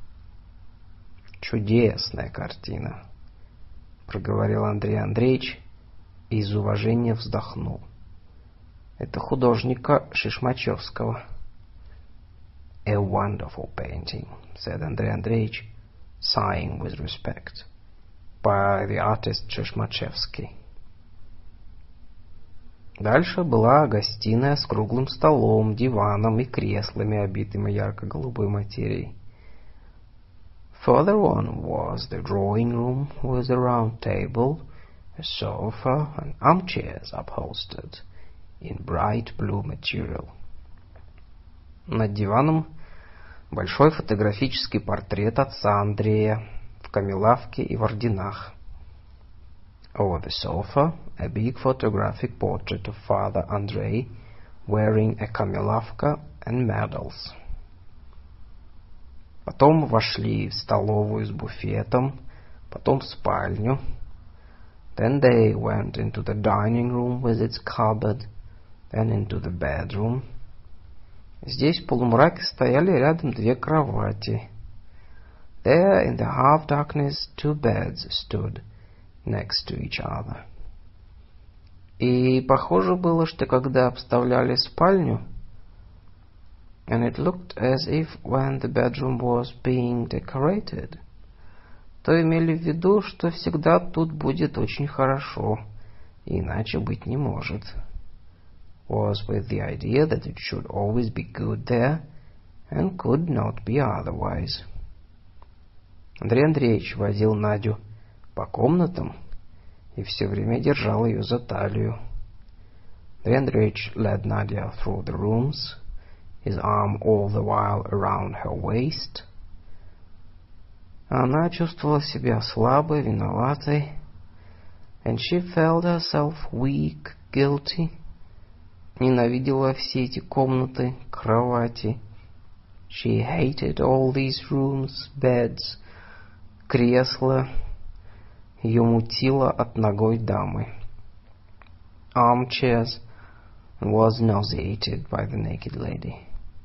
«Чудесная картина», — проговорил Андрей Андреевич и из уважения вздохнул. «Это художника Шишмачевского». «A wonderful painting», — said Андрей Андреевич, sighing with respect, «by the artist Шишмачевский». Дальше была гостиная с круглым столом, диваном и креслами, обитыми ярко-голубой материей. Further on was the drawing room with a round table, a sofa, and armchairs upholstered in bright blue material. Над диваном большой фотографический портрет отца Андрея в камелавке и в орденах. Over the sofa, a big photographic portrait of Father Andrei wearing a камелавка and medals. Потом вошли в столовую с буфетом, потом в спальню. Then they went into the dining room with its cupboard, then into the bedroom. Здесь в полумраке стояли рядом две кровати. There in the half-darkness two beds stood next to each other. И похоже было, что когда обставляли спальню, and it looked as if when the bedroom was being decorated, то имели в виду, что всегда тут будет очень хорошо, иначе быть не может. Was with the idea that it should always be good there, and could not be otherwise. Андрей Андреевич водил Надю по комнатам и все время держал ее за талию. Андрей Андреевич led Nadia through the rooms, his arm all the while around her waist. Она чувствовала себя слабой, виноватой, and she felt herself weak, guilty. Ненавидела все эти комнаты, кровати. She hated all these rooms, beds, кресла. Ее мутило от нагой дамы. Armchairs, and was nauseated by the naked lady.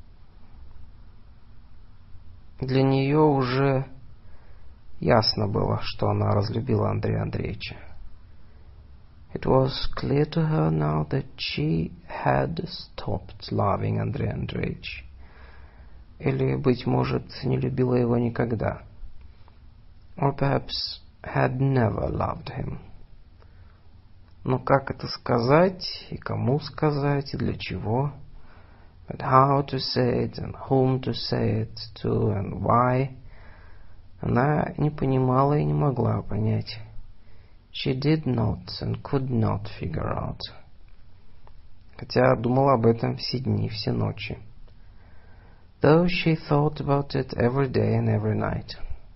Для нее уже ясно было, что она разлюбила Андрея Андреевича. It was clear to her now that she had stopped loving Андрей Андреевич. Или, быть может, не любила его никогда. Or perhaps had never loved him. Но как это сказать, и кому сказать, и для чего? But how to say it, and whom to say it to, and why? Она не понимала и не могла понять. She did not and could not figure out. Хотя думала об этом все дни, все ночи. Though she thought about it every day and every night.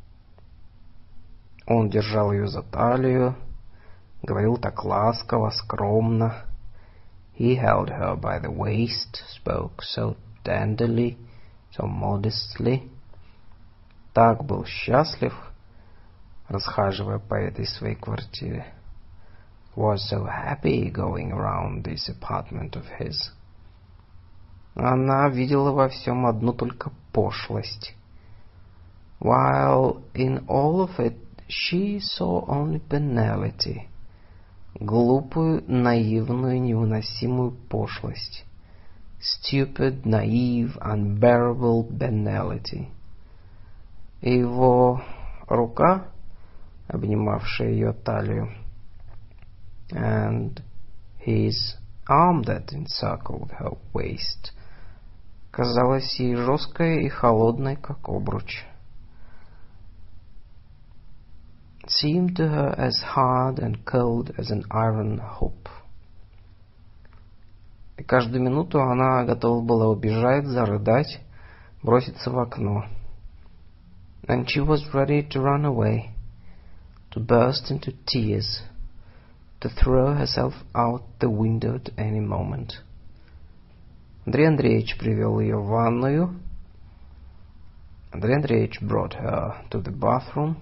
Он держал ее за талию, говорил так ласково, скромно, He held her by the waist, spoke so tenderly, so modestly. Так был счастлив, расхаживая по этой своей квартире. Was so happy going around this apartment of his. Она видела во всем одну только пошлость. While in all of it she saw only banality. Глупую, наивную, невыносимую пошлость. Stupid, naive, unbearable banality. И его рука, обнимавшая ее талию, and his arm that encircled her waist, казалась ей жесткой и холодной, как обруч. Seemed to her as hard and cold as an iron hoop. И каждую минуту она готова была убежать, зарыдать, броситься в окно. And she was ready to run away, to burst into tears, to throw herself out the window at any moment. Андрей Андреевич привел ее в ванную. Андрей Андреевич brought her to the bathroom.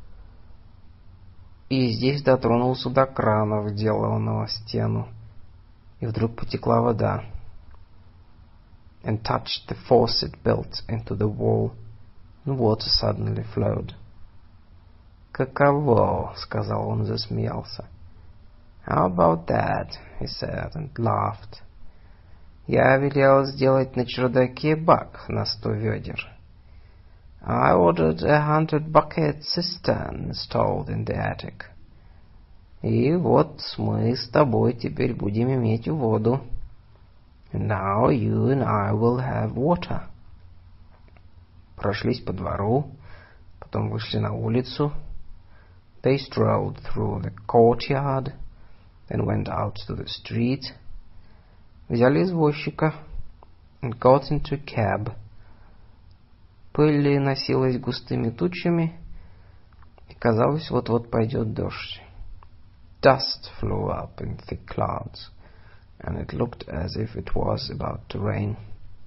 И здесь дотронулся до крана, вделанного в стену, и вдруг потекла вода. And touched the faucet built into the wall, and water suddenly flowed. «Каково?» — сказал он и засмеялся. «How about that?» — he said and laughed. «Я велел сделать на чердаке бак на 100 ведер. I ordered 100-bucket cistern installed in the attic. И вот мы с тобой теперь будем иметь воду. And now you and I will have water». Прошлись по двору, потом вышли на улицу. They strolled through the courtyard, then went out to the street. Взяли извозчика and got into a cab. Пыль носилась густыми тучами, и казалось, вот-вот пойдет дождь. Dust flew up in thick clouds, and it looked as if it was about to rain.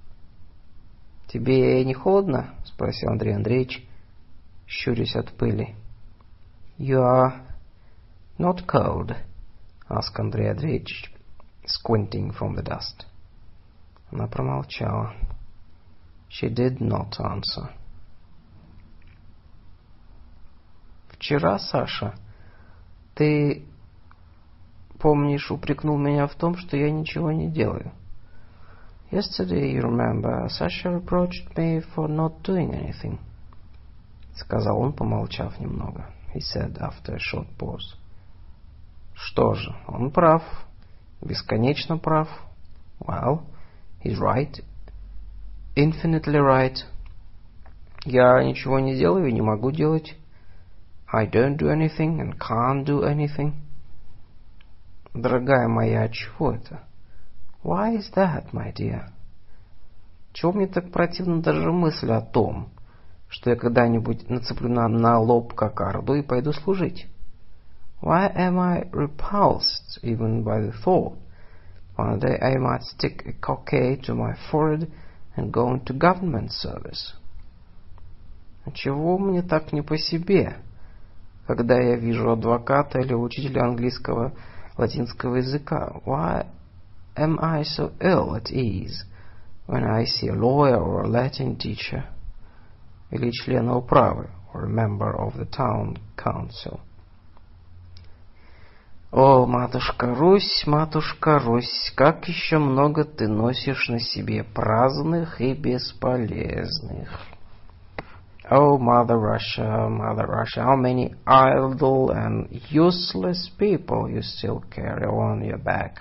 «Тебе не холодно?» — спросил Андрей Андреевич, щурясь от пыли. «You are not cold?» — asked Андрей Андреевич, squinting from the dust. Она промолчала. She did not answer. «Вчера, Саша, ты, помнишь, упрекнул меня в том, что я ничего не делаю?» «Yesterday, you remember, Sasha reproached me for not doing anything», — сказал он, помолчав немного. He said after a short pause. «Что же, он прав, бесконечно прав. Well, he's right. Infinitely right. Я ничего не делаю и не могу делать. I don't do anything and can't do anything. Дорогая моя, чего это? Why is that, my dear? Чего мне так противна даже мысль о том, что я когда-нибудь нацеплю на лоб кокарду и пойду служить? Why am I repulsed even by the thought one day I might stick a cockade to my forehead and go into government service? Чего мне так не по себе, когда я вижу адвоката или учителя английского, латинского языка? Why am I so ill at ease when I see a lawyer or a Latin teacher, или члена управы, or a member of the town council? О, матушка Русь, как еще много ты носишь на себе праздных и бесполезных. Oh, Mother Russia, how many idle and useless people you still carry on your back.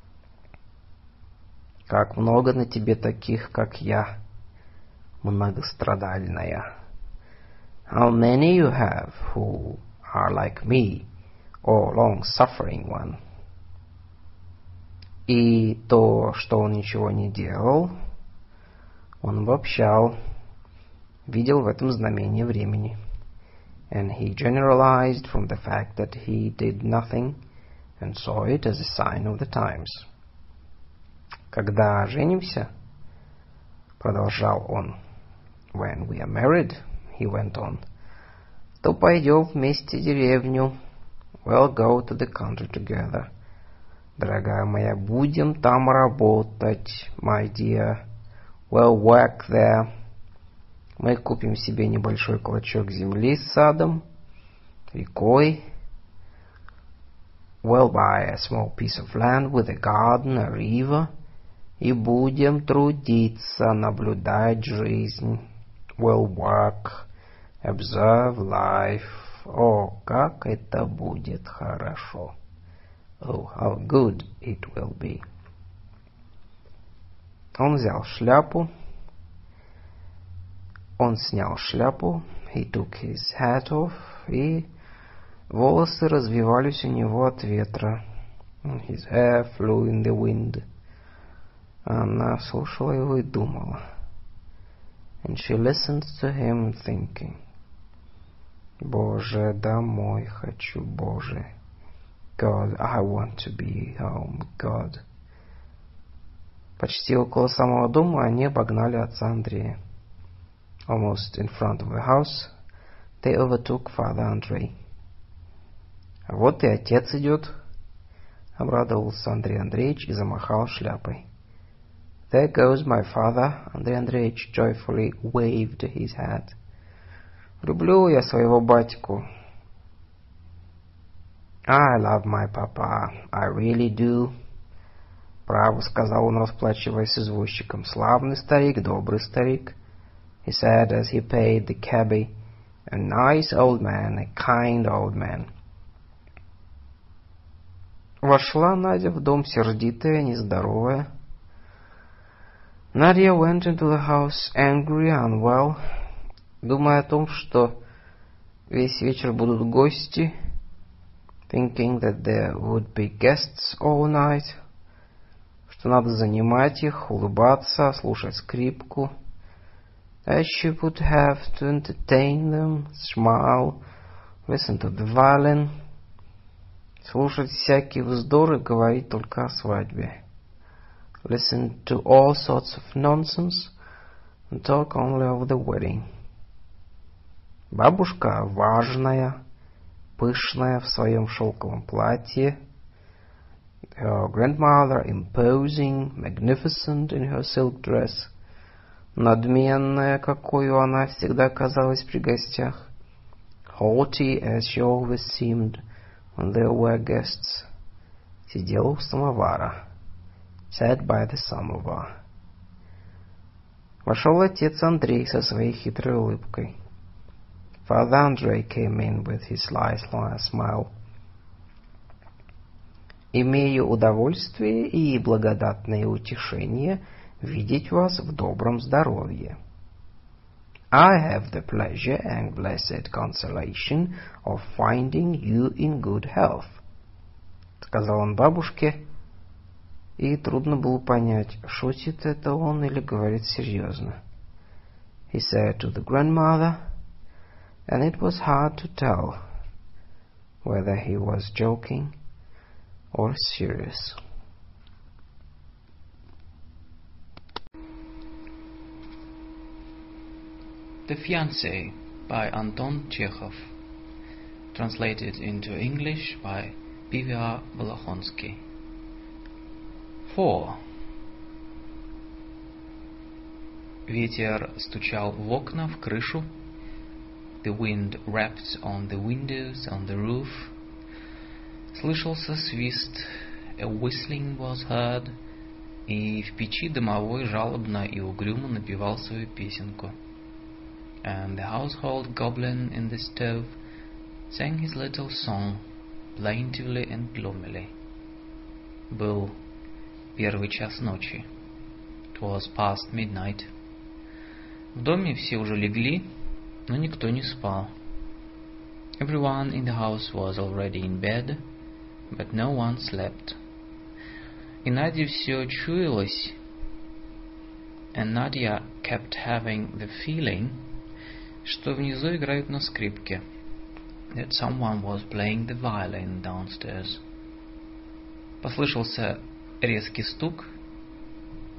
Как много на тебе таких, как я, многострадальная. How many you have who are like me, or long-suffering one. И то, что он ничего не делал, он обобщал, видел в этом знамение времени. And he generalized from the fact that he did nothing and saw it as a sign of the times. Когда женимся, продолжал он, when we are married, he went on, то пойдем вместе в деревню. We'll go to the country together. Дорогая моя, будем там работать, my dear. We'll work there. Мы купим себе небольшой клочок земли с садом, рекой. We'll buy a small piece of land with a garden, a river. И будем трудиться, наблюдать жизнь. We'll work, observe life. О, как это будет хорошо. Oh, how good it will be. Он взял шляпу. Он снял шляпу. He took his hat off. И волосы развивались у него от ветра. His hair flew in the wind. Она слушала его и думала. And she listened to him thinking. Боже, домой хочу, Боже. God, I want to be home, God. Почти около самого дома они обогнали отца Андрея. Almost in front of the house, they overtook Father Andrei. Вот и отец идет, обрадовался Андрей Андреевич и замахал шляпой. There goes my father, Андрей Андреевич joyfully waved his hat. Люблю я своего батьку. I love my papa, I really do. Право, сказал он, расплачиваясь с извозчиком. Славный старик, добрый старик. He said as he paid the cabby. A nice old man, a kind old man. Вошла Надя в дом, сердитая, нездоровая. Nadia went into the house, angry, unwell, думая о том, что весь вечер будут гости, thinking that there would be guests all night, что надо занимать их, улыбаться, слушать скрипку, that she would have to entertain them, smile, listen to the violin, слушать всякий вздор и говорить только о свадьбе. Listen to all sorts of nonsense and talk only of the wedding. Бабушка важная, пышная в своем шелковом платье. Her grandmother imposing, magnificent in her silk dress. Надменная, какой она всегда казалась при гостях. Haughty as she always seemed when there were guests. Сидела у самовара. Sat by the samovar. Вошел отец Андрей со своей хитрой улыбкой. Father Andrei came in with his sly smile. Имею удовольствие и благодатное утешение видеть вас в добром здоровье. I have the pleasure and blessed consolation of finding you in good health, сказал он бабушке, и трудно было понять, шутит это он или говорит серьезно. He said to the grandmother, and it was hard to tell whether he was joking or serious. The Fiancé by Anton Chekhov. Translated into English by P.V.R. Volokhonsky. 4. Ветер стучал в окна, в крышу. The wind rapped on the windows, on the roof. Слышался свист. A whistling was heard. И в печи домовой жалобно и угрюмо напевал свою песенку. And the household goblin in the stove sang his little song, plaintively and gloomily. Был первый час ночи. It was past midnight. В доме все уже легли, но никто не спал. Everyone in the house was already in bed, but no one slept. И Наде все чуялось, and Nadia kept having the feeling, что внизу играют на скрипке, that someone was playing the violin downstairs. Послышался резкий стук.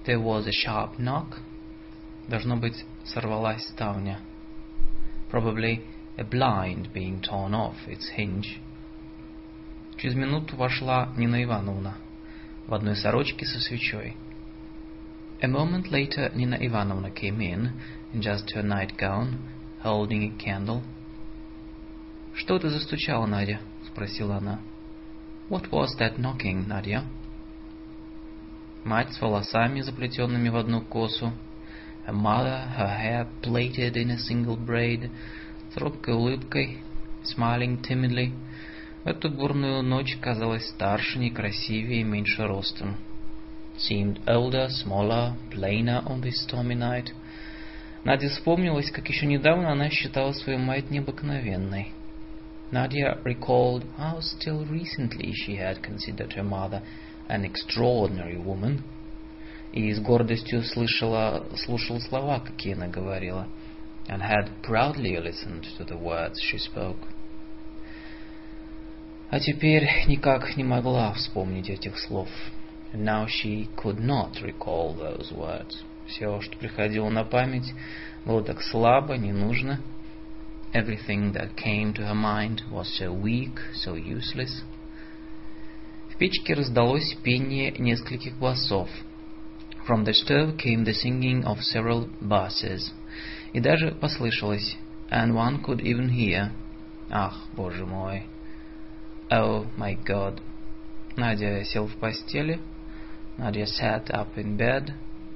There was a sharp knock. Должно быть, сорвалась ставня. Probably a blind being torn off its hinge. Через минуту вошла Нина Ивановна в одной сорочке со свечой. A moment later, Nina Ivanovna came in just her nightgown, holding a candle. «Что ты застучала, Надя?» — спросила она. What was that knocking, Nadia? Мать с волосами, заплетенными в одну косу. Her mother, her hair plaited in a single braid, с робкой улыбкой, smiling timidly. В эту бурную ночь казалась старше, некрасивее и меньше ростом. Seemed older, smaller, plainer on this stormy night. Наде вспомнилось, как еще недавно она считала свою мать необыкновенной. Nadia recalled how still recently she had considered her mother an extraordinary woman, и с гордостью слушал слова, какие она говорила, and had proudly listened to the words she spoke. А теперь никак не могла вспомнить этих слов. And now she could not recall those words. Все, что приходило на память, было так слабо, не нужно. Everything that came to her mind was so weak, so useless. В печке раздалось пение нескольких басов. From the stove came the singing of several basses. И даже послышалось, and one could even hear. Ах, Боже мой! Oh, my God! Надя сел в постели. Nadia sat up in bed.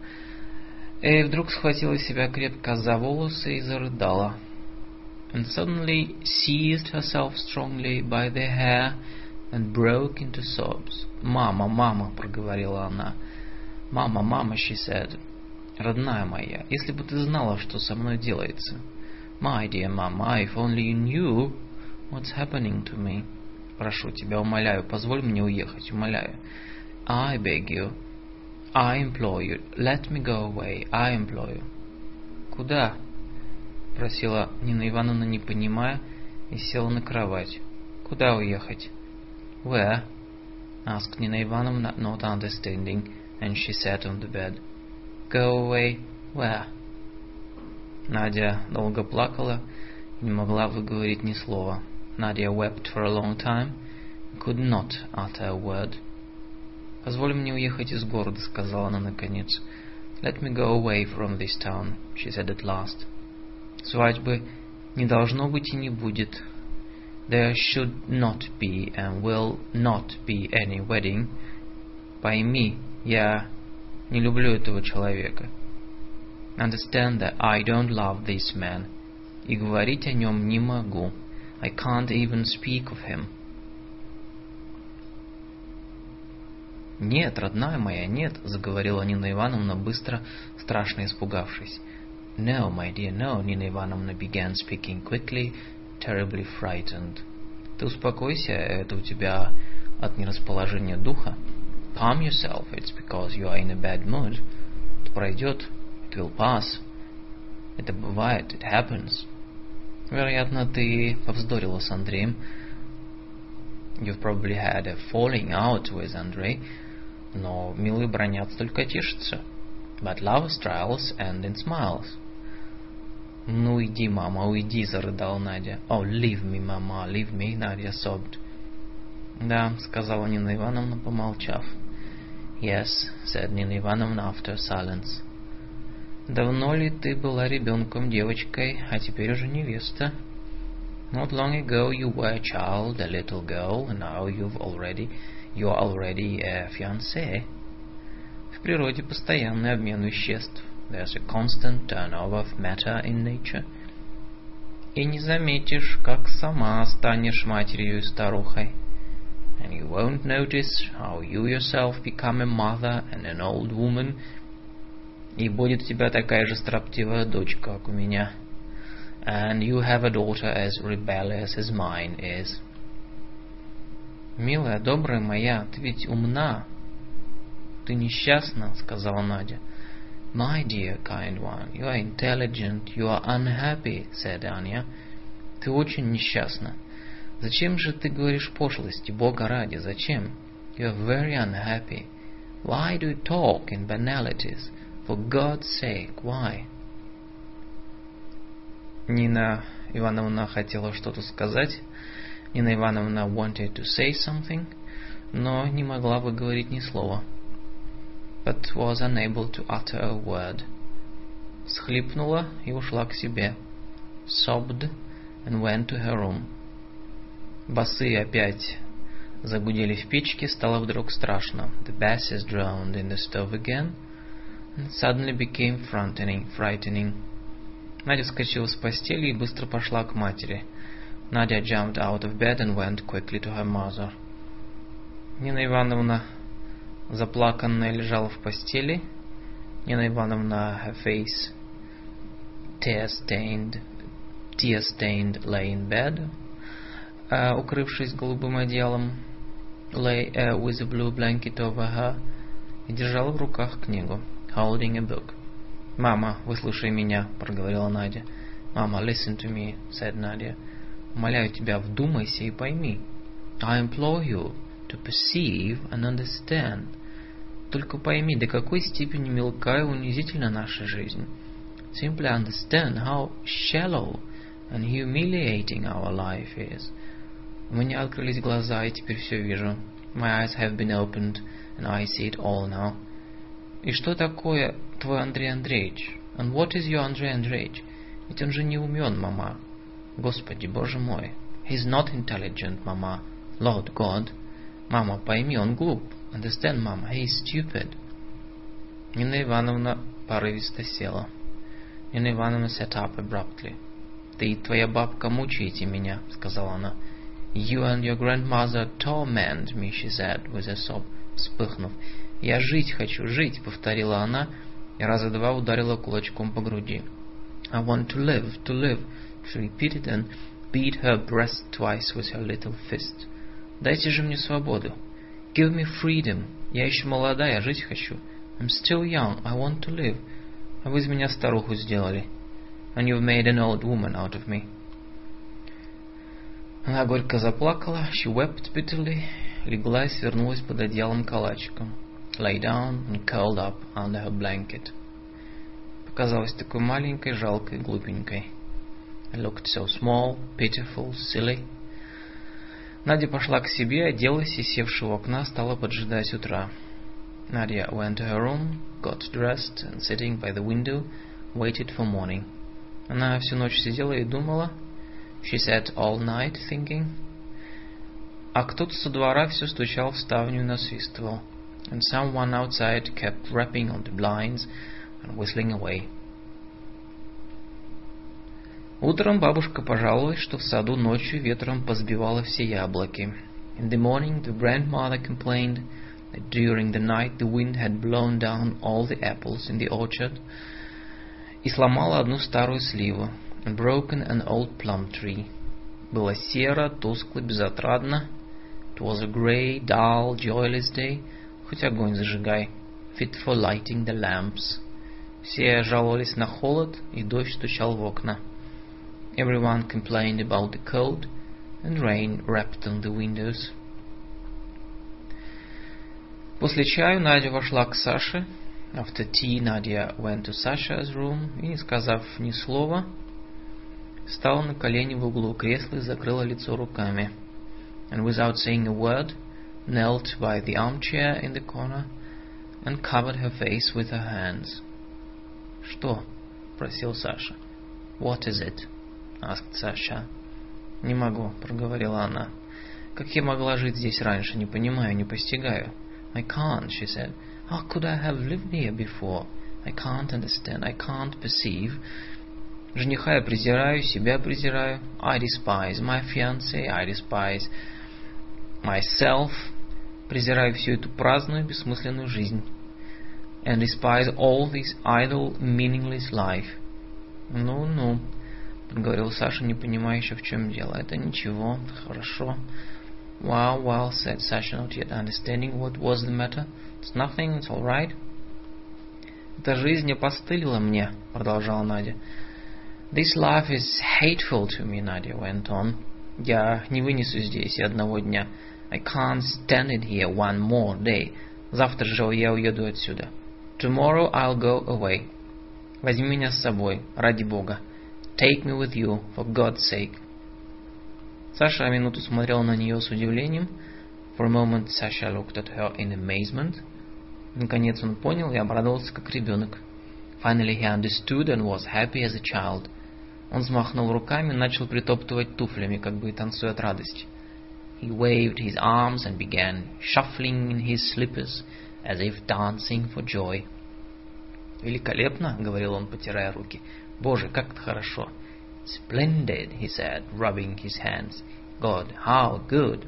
И вдруг схватила себя крепко за волосы и зарыдала. And suddenly seized herself strongly by the hair and broke into sobs. «Мама, мама!» — проговорила она. «Мама, мама!» — she said. «Родная моя, если бы ты знала, что со мной делается!» «My dear mama, if only you knew what's happening to me!» «Прошу тебя, умоляю, позволь мне уехать, умоляю!» «I beg you, I implore you, let me go away, I implore you!» «Куда?» — просила Нина Ивановна, не понимая, и села на кровать. «Куда уехать?» «Where?» — asked Nina Ivanovna, not understanding, and she sat on the bed. «Go away? Where?» Надя долго плакала и не могла выговорить ни слова. Nadia wept for a long time and could not utter a word. «Позволь мне уехать из города», — сказала она наконец. «Let me go away from this town», — she said at last. «Свадьбы не должно быть и не будет. There should not be and will not be any wedding. Пойми, я не люблю этого человека. Understand that I don't love this man. И говорить о нем не могу. I can't even speak of him». «Нет, родная моя, нет», — заговорила Нина Ивановна быстро, страшно испугавшись. «No, my dear, no», — Nina Ivanovna began speaking quickly, terribly frightened. «Ты успокойся, это у тебя от нерасположения духа. Calm yourself, it's because you are in a bad mood. Это пройдет, it will pass. Это бывает, it happens. Вероятно, ты повздорила с Андреем. You've probably had a falling out with Andrei. Но милые бранятся, только тешатся. But lovers' trials end in smiles». «Ну, уйди, мама, уйди», — зарыдала Надя. «Oh, leave me, mama, leave me», — Надя sobbed. «Да», — сказала Нина Ивановна, помолчав. «Yes», — said Nina Ivanovna after silence. «Давно ли ты была ребенком, девочкой, а теперь уже невеста?» «Not long ago you were a child, a little girl, and now you are already a fiancée». В природе постоянный обмен веществ. There's a constant turnover of matter in nature. И не заметишь, как сама станешь матерью и старухой. And you won't notice how you yourself become a mother and an old woman. И будет у тебя такая же строптивая дочка, как у меня. And you have a daughter as rebellious as mine is. «Милая, добрая моя, ты ведь умна». «Ты несчастна», — сказала Надя. «My dear kind one, you are intelligent, you are unhappy», — said Anya. «Ты очень несчастна. Зачем же ты говоришь пошлости, Бога ради, зачем? You are very unhappy. Why do you talk in banalities? For God's sake, why? Нина Ивановна хотела что-то сказать. Нина Ивановна wanted to say something, но не могла выговорить ни слова. But was unable to utter a word. Всхлипнула и ушла к себе. Sobbed and went to her room. Басы опять загудели в печке, стало вдруг страшно. The basses droned in the stove again, and it suddenly became frightening. Надя вскочила с постели и быстро пошла к матери. Nadia jumped out of bed and went quickly to her mother. Нина Ивановна заплаканная лежала в постели. Нина Ивановна, her face tear-stained, lay in bed, укрывшись голубым одеялом, lay with a blue blanket over her, и держала в руках книгу, holding a book. «Мама, выслушай меня», — проговорила Надя. «Мама, listen to me», — said Nadia. «Умоляю тебя, вдумайся и пойми». «I implore you to perceive and understand». Только пойми, до какой степени мелка и унизительна наша жизнь. Simply understand how shallow and humiliating our life is. У меня открылись глаза, и теперь все вижу. My eyes have been opened, and I see it all now. И что такое твой Андрей Андреевич? And what is your Андрей Андреевич? Ведь он же не умен, мама. Господи, Боже мой. He's not intelligent, мама. Lord God. Мама, пойми, он глуп. Understand, Mama, he is stupid. Нина Ивановна порывисто села. Нина Ивановна sat up abruptly. Ты и твоя бабка мучаете меня, сказала она. You and your grandmother torment me, she said with a sob, вспыхнув. Я жить хочу, жить, повторила она и раза два ударила кулачком по груди. I want to live, she repeated and beat her breast twice with her little fist. Дайте же мне свободу. Give me freedom. Я еще молода, я жить хочу. I'm still young, I want to live. А вы из меня старуху сделали. And you've made an old woman out of me. Она горько заплакала. She wept bitterly. Легла и свернулась под одеялом калачиком. Lay down and curled up under her blanket. Показалась такой маленькой, жалкой, глупенькой. I looked so small, pitiful, silly. Надя пошла к себе, оделась и, севши у окна, стала поджидать утра. Nadia went to her room, got dressed, and sitting by the window, waited for morning. Она всю ночь сидела и думала. She sat all night thinking. А кто-то со двора все стучал в ставню и насвистывал. And someone outside kept rapping on the blinds and whistling away. Утром бабушка пожаловалась, что в саду ночью ветром позбивало все яблоки. In the morning the grandmother complained that during the night the wind had blown down all the apples in the orchard и сломала одну старую сливу, and broken an old plum tree. Было серо, тускло, безотрадно. It was a grey, dull, joyless day. Хоть огонь зажигай. Fit for lighting the lamps. Все жаловались на холод, и дождь стучал в окна. Everyone complained about the cold, and rain rapped on the windows. После чаю Надя вошла к Саше. After tea, Nadia went to Sasha's room и, не сказав ни слова, стала на колени в углу кресла и закрыла лицо руками. And without saying a word, knelt by the armchair in the corner and covered her face with her hands. «Что?» — просил Саша. «What is it?» — asked Sasha. «Не могу», — проговорила она. «Как я могла жить здесь раньше? Не понимаю, не постигаю». «I can't», she said. «How could I have lived here before? I can't understand, I can't perceive». Жениха я презираю, себя презираю. I despise my fiancé, I despise myself. Презираю всю эту праздную, бессмысленную жизнь. And despise all this idle, meaningless life. Ну, проговорил Саша, не понимая еще, в чем дело. Это ничего, хорошо. Well, said Sasha, not yet understanding what was the matter. It's nothing, it's all right. Эта жизнь опостылила мне, продолжала Надя. This life is hateful to me, Nadia went on. Я не вынесу здесь и одного дня. I can't stand it here one more day. Завтра же я уеду отсюда. Tomorrow I'll go away. Возьми меня с собой, ради Бога. Take me with you, for God's sake. Саша минуту смотрел на нее с удивлением. For a moment Sasha looked at her in amazement. Наконец он понял и обрадовался, как ребенок. Finally he understood and was happy as a child. Он взмахнул руками и начал притоптывать туфлями, как бы танцуя от радости. He waved his arms and began shuffling in his slippers, as if dancing for joy. «Великолепно!» — говорил он, потирая руки. «Боже, как это хорошо!» «Splendid!» he said, rubbing his hands. «God, how good!»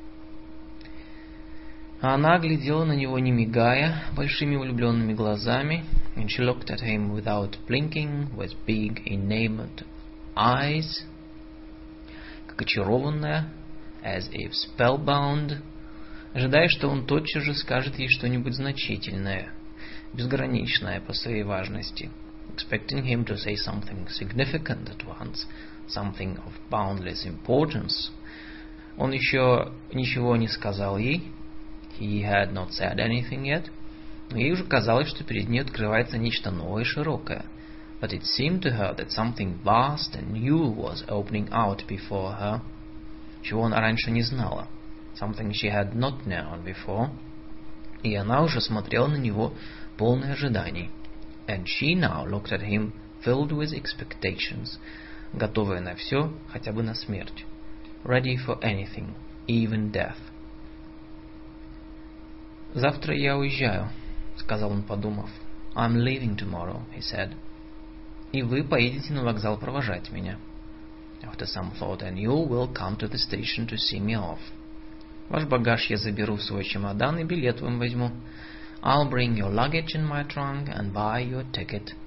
А она глядела на него, не мигая, большими влюбленными глазами, and she looked at him without blinking, with big, enamored eyes, как очарованная, as if spellbound, ожидая, что он тотчас же скажет ей что-нибудь значительное, безграничное по своей важности, expecting him to say something significant at once, something of boundless importance. Он еще ничего не сказал ей, he had not said anything yet, но ей уже казалось, что перед ней открывается нечто новое и широкое. But it seemed to her that something vast and new was opening out before her, чего она раньше не знала, something she had not known before, и она уже смотрела на него полной ожиданий, and she now looked at him filled with expectations, готовая на все, хотя бы на смерть, ready for anything, even death. «Завтра я уезжаю», — сказал он, подумав. «I'm leaving tomorrow», he said. «И вы поедете на вокзал провожать меня». After some thought, and you will come to the station to see me off. Ваш багаж я заберу в свой чемодан и билет вам возьму. I'll bring your luggage in my trunk and buy your ticket.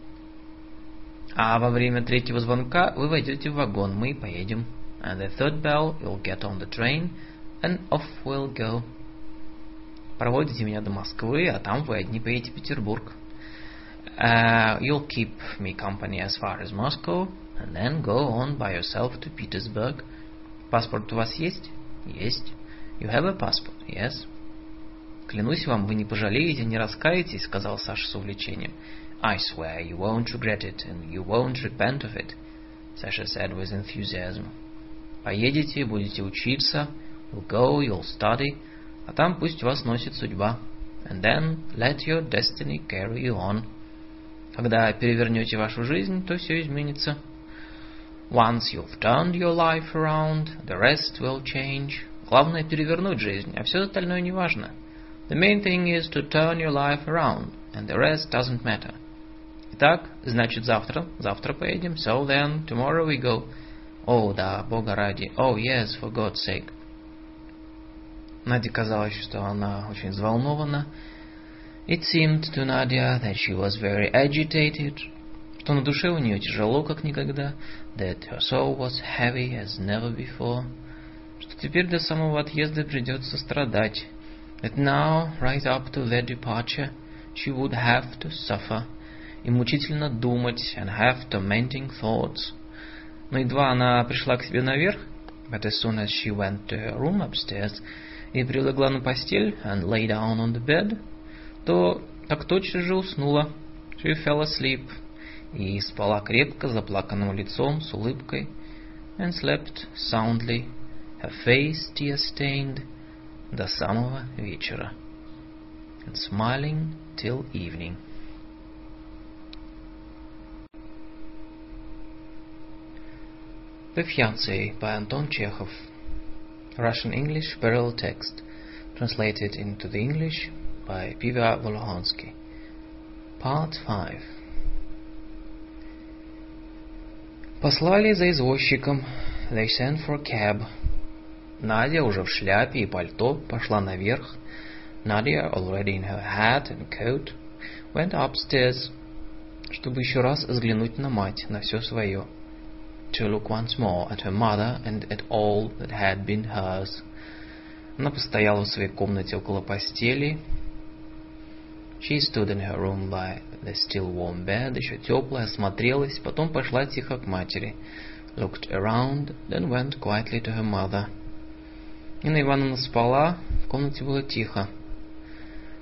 А во время третьего звонка вы войдете в вагон, мы поедем. And the third bell, you'll get on the train, and off we'll go. Проводите меня до Москвы, а там вы одни поедете в Петербург. You'll keep me company as far as Moscow, and then go on by yourself to Petersburg. Паспорт у вас есть? Есть. You have a passport? Yes. Клянусь вам, вы не пожалеете, не раскаетесь, сказал Саша с увлечением. I swear you won't regret it, and you won't repent of it, Sasha said with enthusiasm. Поедете, будете учиться, you'll go, you'll study, а там пусть вас носит судьба. And then let your destiny carry you on. Когда перевернете вашу жизнь, то все изменится. Once you've turned your life around, the rest will change. Главное перевернуть жизнь, а все остальное не важно. The main thing is to turn your life around, and the rest doesn't matter. Итак, значит завтра поедем. So then, tomorrow we go. О, да, Бога ради. Oh, yes, for God's sake. Наде казалось, что она очень взволнована. It seemed to Nadia that she was very agitated, что на душе у нее тяжело, как никогда, that her soul was heavy as never before, что теперь до самого отъезда придется страдать, that now, right up to their departure, she would have to suffer, и мучительно думать, and have tormenting thoughts. Но едва она пришла к себе наверх, but as soon as she went to her room upstairs, и прилегла на постель, and lay down on the bed, то так тотчас же уснула. She fell asleep. И спала крепко, заплаканным лицом, с улыбкой. And slept soundly, her face tear-stained, до самого вечера. And smiling till evening. The Fiancé by Anton Chekhov. Russian-English parallel text, translated into the English by Piva Volhonsky. Part 5. Послали за извозчиком. They sent for a cab. Надя уже в шляпе и пальто пошла наверх. Nadia, already in her hat and coat, went upstairs, чтобы еще раз взглянуть на мать, на все свое. To look once more at her mother and at all that had been hers. Она постояла в своей комнате около постели. She stood in her room by the still warm bed, еще теплая, осмотрелась, потом пошла тихо к матери. Looked around, then went quietly to her mother. Нина Ивановна спала, в комнате было тихо.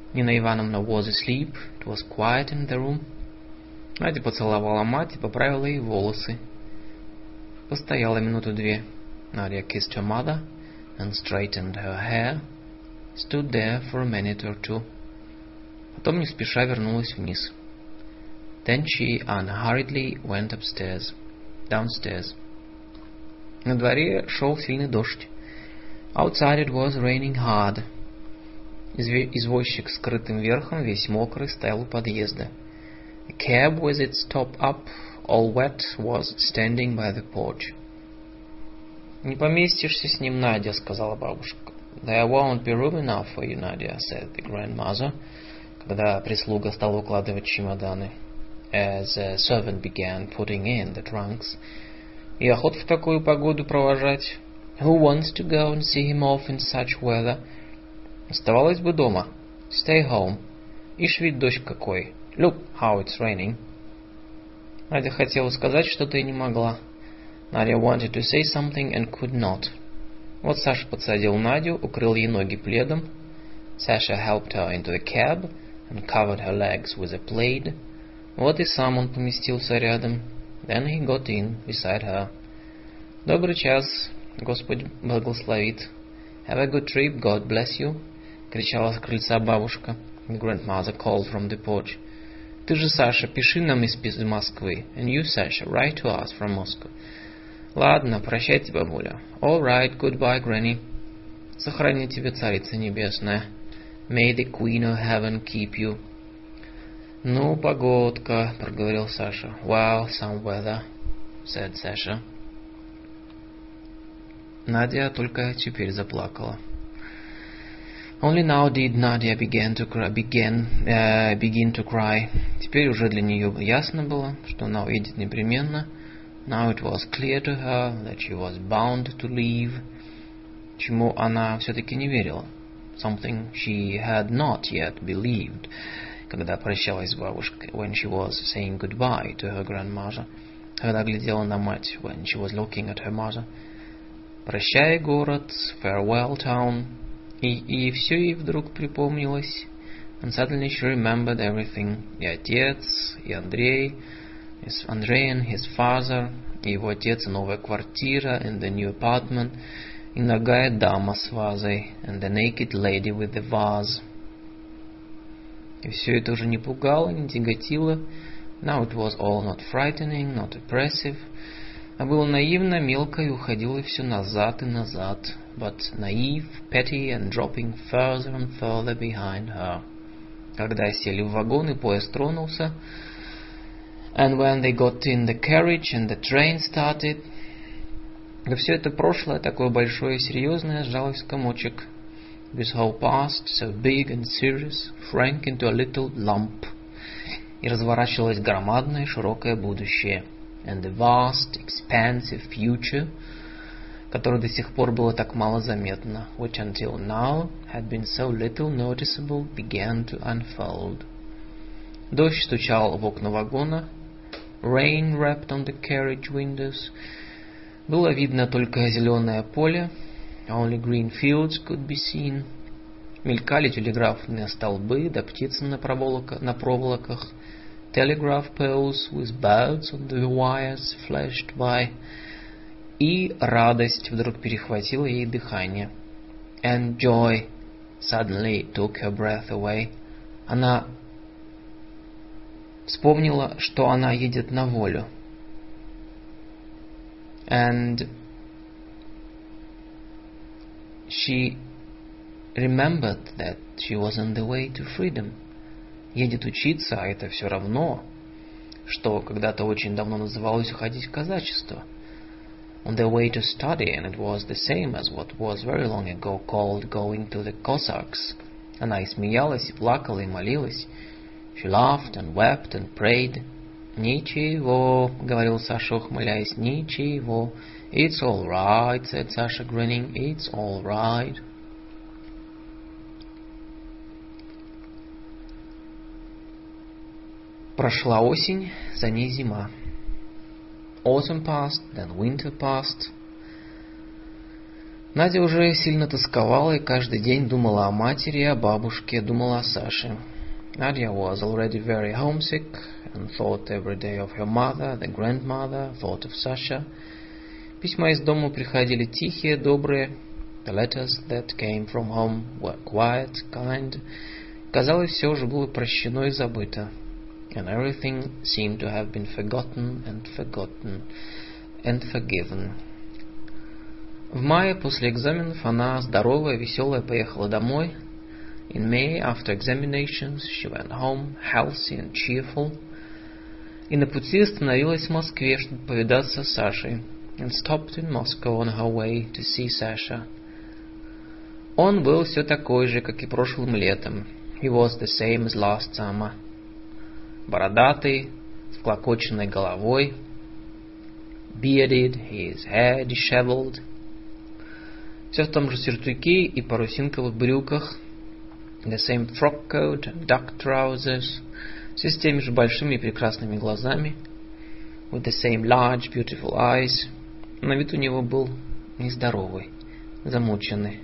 Nina Ivanovna was asleep. It was quiet in the room. Надя поцеловала мать и поправила ей волосы. Постояла минуту-две. Nadia kissed her mother and straightened her hair. Stood there for a minute or two. Потом не спеша вернулась вниз. Then she unhurriedly went downstairs. На дворе шел сильный дождь. Outside it was raining hard. Извозчик с скрытым верхом, весь мокрый, стоял у подъезда. A cab with its top up, all wet, was standing by the porch. «Не поместишься с ним, Надя», — сказала бабушка. «There won't be room enough for you, Nadia», — said the grandmother, когда прислуга стала укладывать чемоданы. As a servant began putting in the trunks. «И охот в такую погоду провожать. Who wants to go and see him off in such weather? Оставалась бы дома. Stay home. Ишь ведь дождь какой. Look how it's raining». Надя хотела сказать что-то и не могла. Nadia wanted to say something and could not. Вот Саша подсадил Надю, укрыл ей ноги пледом. Sasha helped her into the cab and covered her legs with a plaid. Вот и сам он поместился рядом. Then he got in beside her. «Добрый час, Господь благословит. Have a good trip, God bless you», — кричала с крыльца бабушка. The grandmother called from the porch. «Ты же, Саша, пиши нам из Москвы. And you, Sasha, write to us from Moscow». «Ладно, прощайте, бабуля». «All right, goodbye, Granny». «Сохрани тебя, Царица Небесная». «May the Queen of Heaven keep you». «Ну, погодка», — проговорил Саша. «Well, some weather», — said Sasha. Надя только теперь заплакала. Only now did Nadia begin to cry. Теперь уже для нее ясно было, что она уедет непременно. Now it was clear to her that she was bound to leave. Чему она все-таки не верила. Something she had not yet believed. Когда прощалась с бабушкой, when she was saying goodbye to her grandmother. Когда глядела на мать, when she was looking at her mother. Прощай, город, farewell, town. И все ей вдруг припомнилось. And suddenly she remembered everything. И отец, и Андрей and his father, и его отец, и новая квартира, and the new apartment, и нагая дама с вазой, and the naked lady with the vase. И все это уже не пугало, не тяготило. Now it was all not frightening, not oppressive. А было наивно, мелко и уходило все назад и назад. But naive, petty and dropping further and further behind her. Когда сели в вагон и поезд тронулся, and when they got in the carriage and the train started, да все это прошлое, такое большое и серьезное, сжалось в комочек. This whole past, so big and serious, shrank into a little lump. И разворачивалось громадное широкое будущее. And the vast, expansive future, которое до сих пор было так мало заметно, which until now had been so little noticeable, began to unfold. Дождь стучал в окна вагона. Rain rapped on the carriage windows. Было видно только зеленое поле. Only green fields could be seen. Мелькали телеграфные столбы, да птицы на проволоках. Telegraph poles with birds on the wires flashed by. И радость вдруг перехватила ей дыхание. And joy suddenly took her breath away. Она вспомнила, что она едет на волю. And she remembered that she was on the way to freedom. Едет учиться, а это все равно, что когда-то очень давно называлось уходить в казачество. On their way to study, and it was the same as what was very long ago called going to the Cossacks. Она и смеялась, и плакала, и молилась. She laughed and wept and prayed. «Ничего», — говорил Саша, ухмыляясь, «ничего». «It's all right», — said Sasha, grinning. «It's all right». Прошла осень, за ней зима. Autumn passed, then winter passed. Надя уже сильно тосковала и каждый день думала о матери и о бабушке, думала о Саше. Nadia was already very homesick and thought every day of her mother, the grandmother, thought of Sasha. Письма из дома приходили тихие, добрые. The letters that came from home were quiet, kind. Казалось, все уже было прощено и забыто. And everything seemed to have been forgotten and forgiven. В мае после экзаменов она, здоровая, веселая, поехала домой. In May, after examinations, she went home, healthy and cheerful. И на пути остановилась в Москве, чтобы повидаться с Сашей. And stopped in Moscow on her way to see Sasha. Он был все такой же, как и прошлым летом. He was the same as last summer. Бородатый, с всклокоченной головой. Bearded, his hair disheveled. Все в том же сюртуке и парусинковых брюках. The same frock coat and duck trousers. Все с теми же большими и прекрасными глазами. With the same large, beautiful eyes. На вид у него был нездоровый, замученный.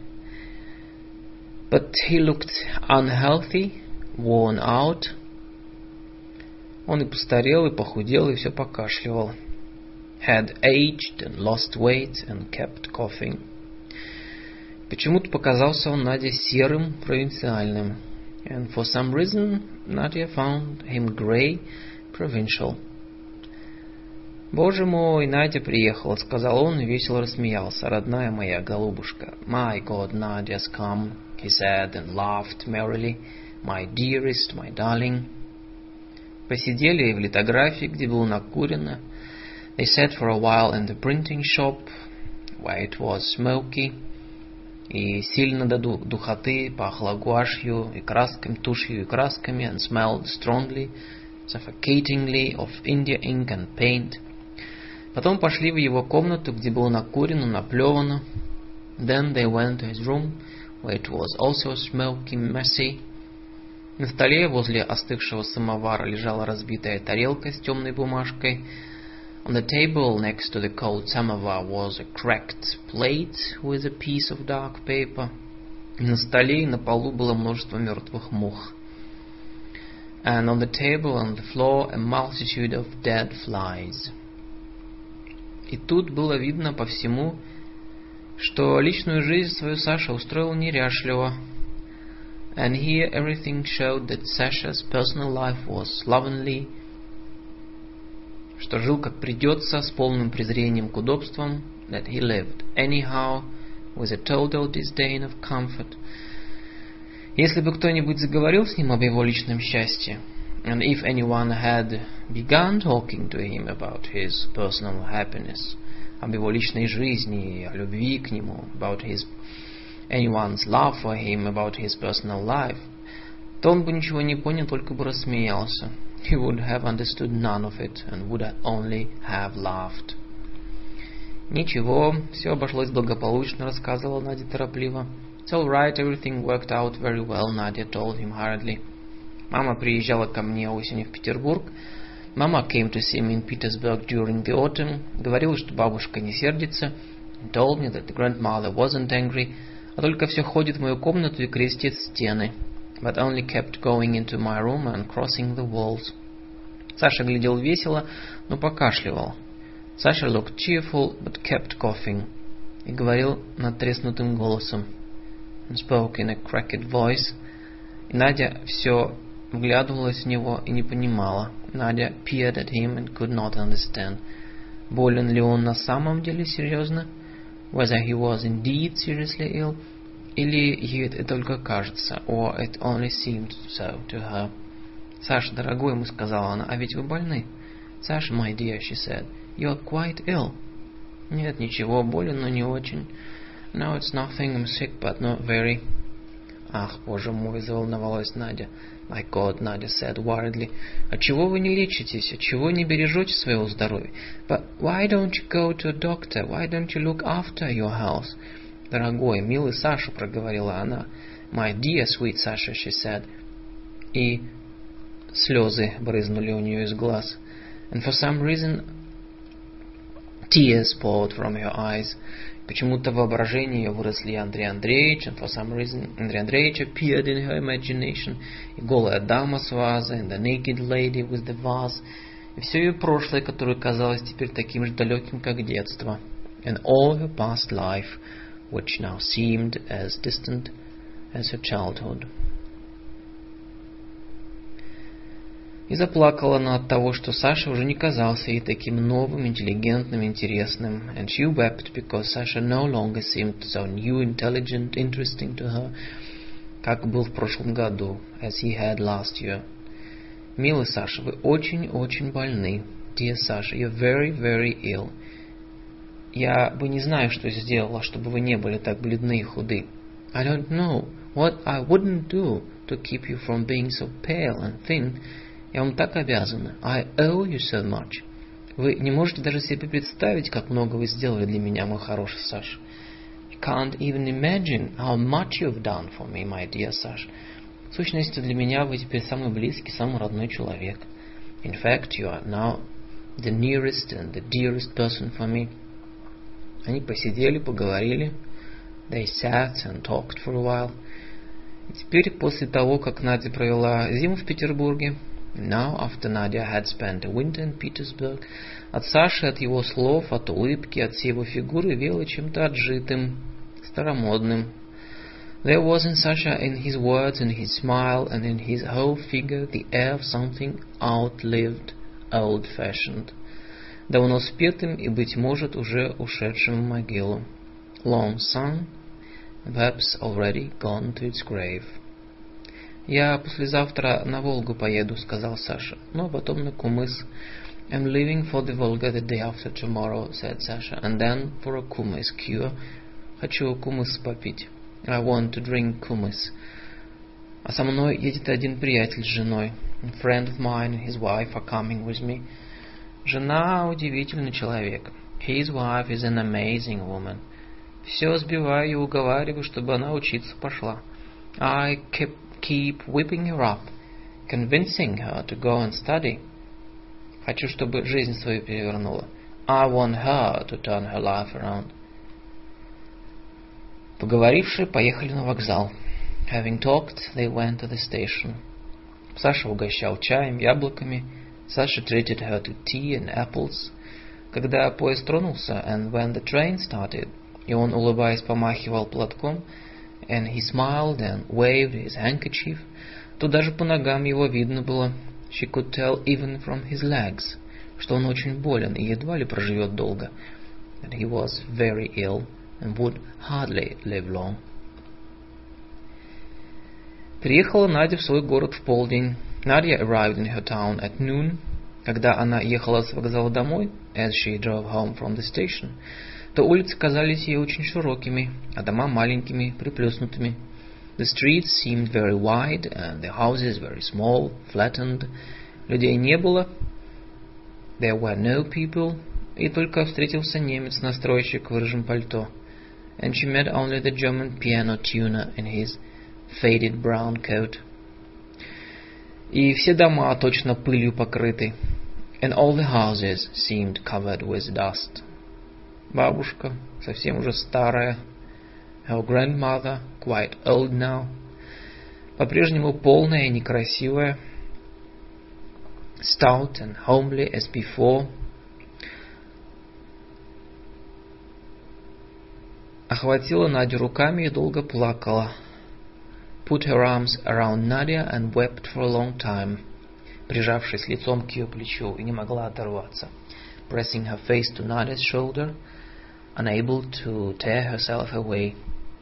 But he looked unhealthy, worn out. Он и постарел, и похудел, и все покашливал. Had aged and lost weight and kept coughing. Почему-то показался он Наде серым, провинциальным. And for some reason, Nadia found him grey, provincial. «Боже мой, Надя приехала», — сказал он и весело рассмеялся. «Родная моя голубушка». «My God, Nadia's come», he said and laughed merrily. «My dearest, my darling». Посидели в литографии, где было накурено. They sat for a while in the printing shop, where it was smoky. И сильно до духоты пахло гуашью и красками, тушью и красками, and smelled strongly, suffocatingly of India ink and paint. Потом пошли в его комнату, где было накурено, наплевано. Then they went to his room, where it was also smoky, messy. На столе возле остывшего самовара лежала разбитая тарелка с темной бумажкой. On the table next to the cold samovar was a cracked plate with a piece of dark paper. На столе и на полу было множество мертвых мух. And on the table and the floor a multitude of dead flies. И тут было видно по всему, что личную жизнь свою Саша устроил неряшливо. And here everything showed that Sasha's personal life was slovenly, что жил как придется, с полным презрением к удобствам, that he lived anyhow, with a total disdain of comfort. Если бы кто-нибудь заговорил с ним об его личном счастье, and if anyone had begun talking to him about his personal happiness, об его личной жизни, о любви к нему, about anyone's love for him, about his personal life, то он бы ничего не понял, только бы рассмеялся. He would have understood none of it and would only have laughed. «Ничего, все обошлось благополучно», — рассказывала Надя торопливо. «It's all right, everything worked out very well», Nadia told him hurriedly. «Мама приезжала ко мне осенью в Петербург. Mama came to see me in Petersburg during the autumn. Говорила, что бабушка не сердится. And told me that the grandmother wasn't angry, а только все ходит в мою комнату и крестит стены. But only kept going into my room and crossing the walls». Саша глядел весело, но покашливал. Sasha looked cheerful, but kept coughing. И говорил надтреснутым голосом. And spoke in a cracked voice. И Надя все вглядывалась в него и не понимала. Надя peered at him and could not understand. Болен ли он на самом деле серьезно? Whether he was indeed seriously ill, или ей это только кажется, or it only seemed so to her. «Саша, дорогой», ему сказала она, — «а ведь вы больны». «Sasha, my dear», she said, «you are quite ill». «Нет, ничего, болен, но не очень». «No, it's nothing, I'm sick, but not very». «Ах, боже мой», заволновалась Надя. «My God», Надя said worriedly, «отчего вы не лечитесь? Отчего не бережете своего здоровья?» «But why don't you go to a doctor? Why don't you look after your health?» «Дорогой, милый Саша», проговорила она. «My dear, sweet Sasha», she said. И слезы брызнули у нее из глаз. And for some reason tears poured from her eyes. Почему-то в воображении ее выросли Андрей Андреевич, and for some reason Андрей Андреевич appeared in her imagination, и голая дама с вазой, and the naked lady with the vase, и все ее прошлое, которое казалось теперь таким же далеким, как детство, and all her past life, which now seemed as distant as her childhood. И заплакала она от того, что Саша уже не казался ей таким новым, интеллигентным, интересным. And she wept because Sasha no longer seemed so new, intelligent, interesting to her, как был в прошлом году, as he had last year. Милый Саша, вы очень-очень больны. Dear Sasha, you're very, very ill. Я бы не знаю, что сделала, чтобы вы не были так бледны и худы. I don't know what I wouldn't do to keep you from being so pale and thin. Я вам так обязана. I owe you so much. Вы не можете даже себе представить, как много вы сделали для меня, мой хороший Саш. You can't even imagine how much you've done for me, my dear Sash. В сущности, для меня вы теперь самый близкий, самый родной человек. In fact, you are now the nearest and the dearest person for me. Они посидели, поговорили. They sat and talked for a while. И теперь, после того, как Надя провела зиму в Петербурге, now, after Nadia had spent a winter in Petersburg, от Саши, от его слов, от улыбки, от всей его фигуры веяло чем-то отжитым, старомодным. There was in Sasha, in his words, in his smile, and in his whole figure, the air of something outlived, old-fashioned, давно спетым и, быть может, уже ушедшим в могилу. Long sung, perhaps already gone to its grave. «Я послезавтра на Волгу поеду», — сказал Саша, — «ну, а потом на Кумыс». «I'm leaving for the Volga the day after tomorrow», — said Sasha, «and then for a Kumis cure». «Хочу кумыс попить». «I want to drink kumis». «А со мной едет один приятель с женой». «A friend of mine and his wife are coming with me». «Жена удивительный человек». «His wife is an amazing woman». «Все сбиваю и уговариваю, чтобы она учиться пошла». «I keep whipping her up, convincing her to go and study». «Хочу, чтобы жизнь свою перевернула». «I want her to turn her life around». Поговоривши, поехали на вокзал. Having talked, they went to the station. Саша угощал чаем, яблоками. Sasha treated her to tea and apples. Когда поезд тронулся, and when the train started, и он, улыбаясь, помахивал платком, and he smiled and waved his handkerchief, то даже по ногам его видно было, she could tell even from his legs, что он очень болен и едва ли проживет долго, that he was very ill and would hardly live long. Приехала Надя в свой город в полдень. Nadia arrived in her town at noon. Когда она ехала с вокзала домой, as she drove home from the station, то улицы казались ей очень широкими, а дома маленькими, приплюснутыми. The streets seemed very wide, and the houses very small, flattened. Людей не было. There were no people. И только встретился немец-настройщик в рыжем пальто. And she met only the German piano tuner in his faded brown coat. И все дома точно пылью покрыты. And all the houses seemed covered with dust. Бабушка, совсем уже старая. Her grandmother, quite old now. По-прежнему полная и некрасивая. Stout and homely as before. Охватила Надю руками и долго плакала. Put her arms around Nadia and wept for a long time. Прижавшись лицом к ее плечу, и не могла оторваться. Pressing her face to Nadia's shoulder, unable to tear herself away.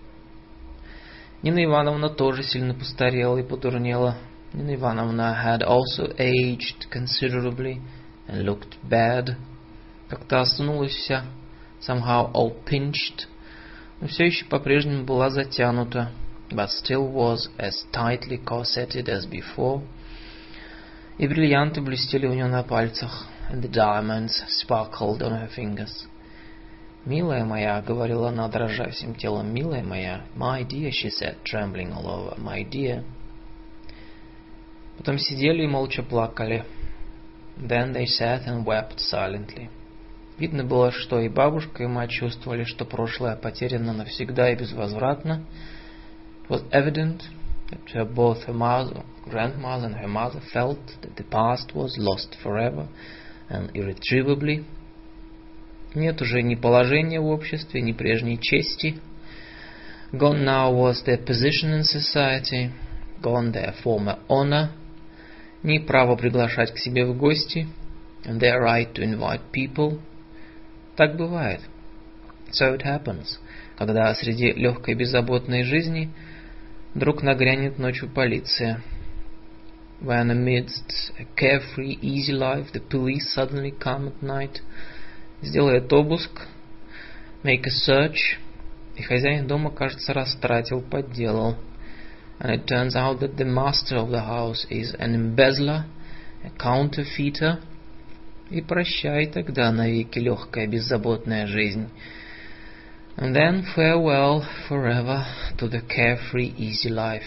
Нина Ивановна тоже сильно постарела и подурнела. Nina Ivanovna had also aged considerably and looked bad. Как-то осунулась вся, somehow all pinched, но все еще по-прежнему была затянута, but still was as tightly corseted as before. И бриллианты блестели у нее на пальцах, and the diamonds sparkled on her fingers. «Милая моя», — говорила она, дрожа всем телом, «милая моя». «My dear», she said, trembling all over, «my dear». Потом сидели и молча плакали. Then they sat and wept silently. Видно было, что и бабушка, и мать чувствовали, что прошлое потеряно навсегда и безвозвратно. It was evident that both her grandmother and her mother felt that the past was lost forever and irretrievably. Нет уже ни положения в обществе, ни прежней чести. Gone now was their position in society, gone their former honor, ни право приглашать к себе в гости, and their right to invite people. Так бывает. So it happens, когда среди легкой беззаботной жизни вдруг нагрянет ночью полиция. When amidst a carefree, easy life, the police suddenly come at night, сделает обыск, make a search, и хозяин дома, кажется, растратил, подделал. And it turns out that the master of the house is an embezzler, a counterfeiter. И прощай тогда навеки легкая беззаботная жизнь. And then farewell forever to the carefree, easy life.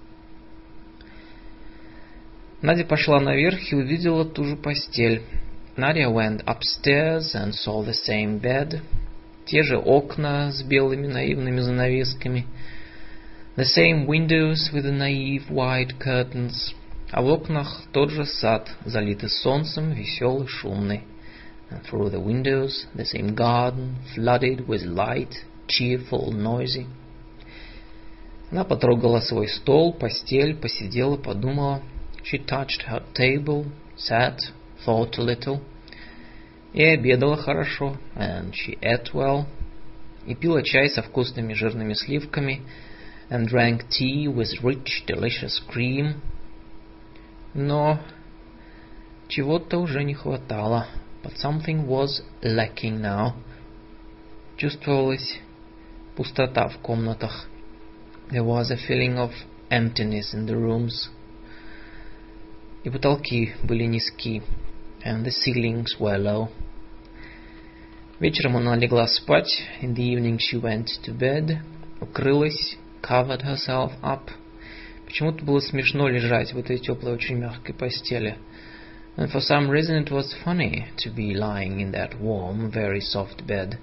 Надя пошла наверх и увидела ту же постель. Nadia went upstairs and saw the same bed. Те же окна с белыми наивными занавесками. The same windows with the naive white curtains. А в окнах тот же сад, залитый солнцем, веселый, шумный. And through the windows the same garden, flooded with light, cheerful, noisy. Она потрогала свой стол, постель, посидела, подумала. She touched her table, sat, thought a little. И обедала хорошо, and she ate well. И пила чай со вкусными жирными сливками, and drank tea with rich, delicious cream. Но чего-то уже не хватало. But something was lacking now. Чувствовалась пустота в комнатах. There was a feeling of emptiness in the rooms. И потолки были низки, and the ceilings were low. Вечером она легла спать. In the evening she went to bed. Укрылась, covered herself up. Почему-то было смешно лежать в этой теплой, очень мягкой постели. And for some reason it was funny to be lying in that warm, very soft bed.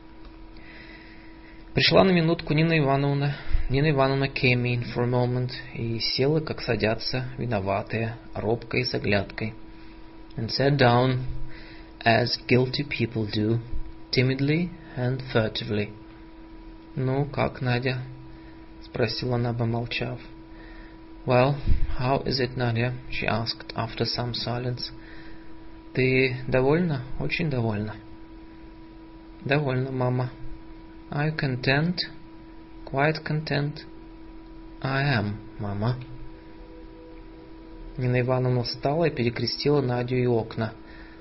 Пришла на минутку Нина Ивановна. Нина Ивановна came in for a moment и села, как садятся, виноватые, робкой, с оглядкой. And sat down, as guilty people do, timidly and furtively. «Ну, как, Надя?» — спросила она, помолчав. «Well, how is it, Nadia?» she asked after some silence. «Ты довольна? Очень довольна?» «Довольна, мама». «Are you content?» «Quite content?» «I am, мама». Нина Ивановна встала и перекрестила Надю и окна.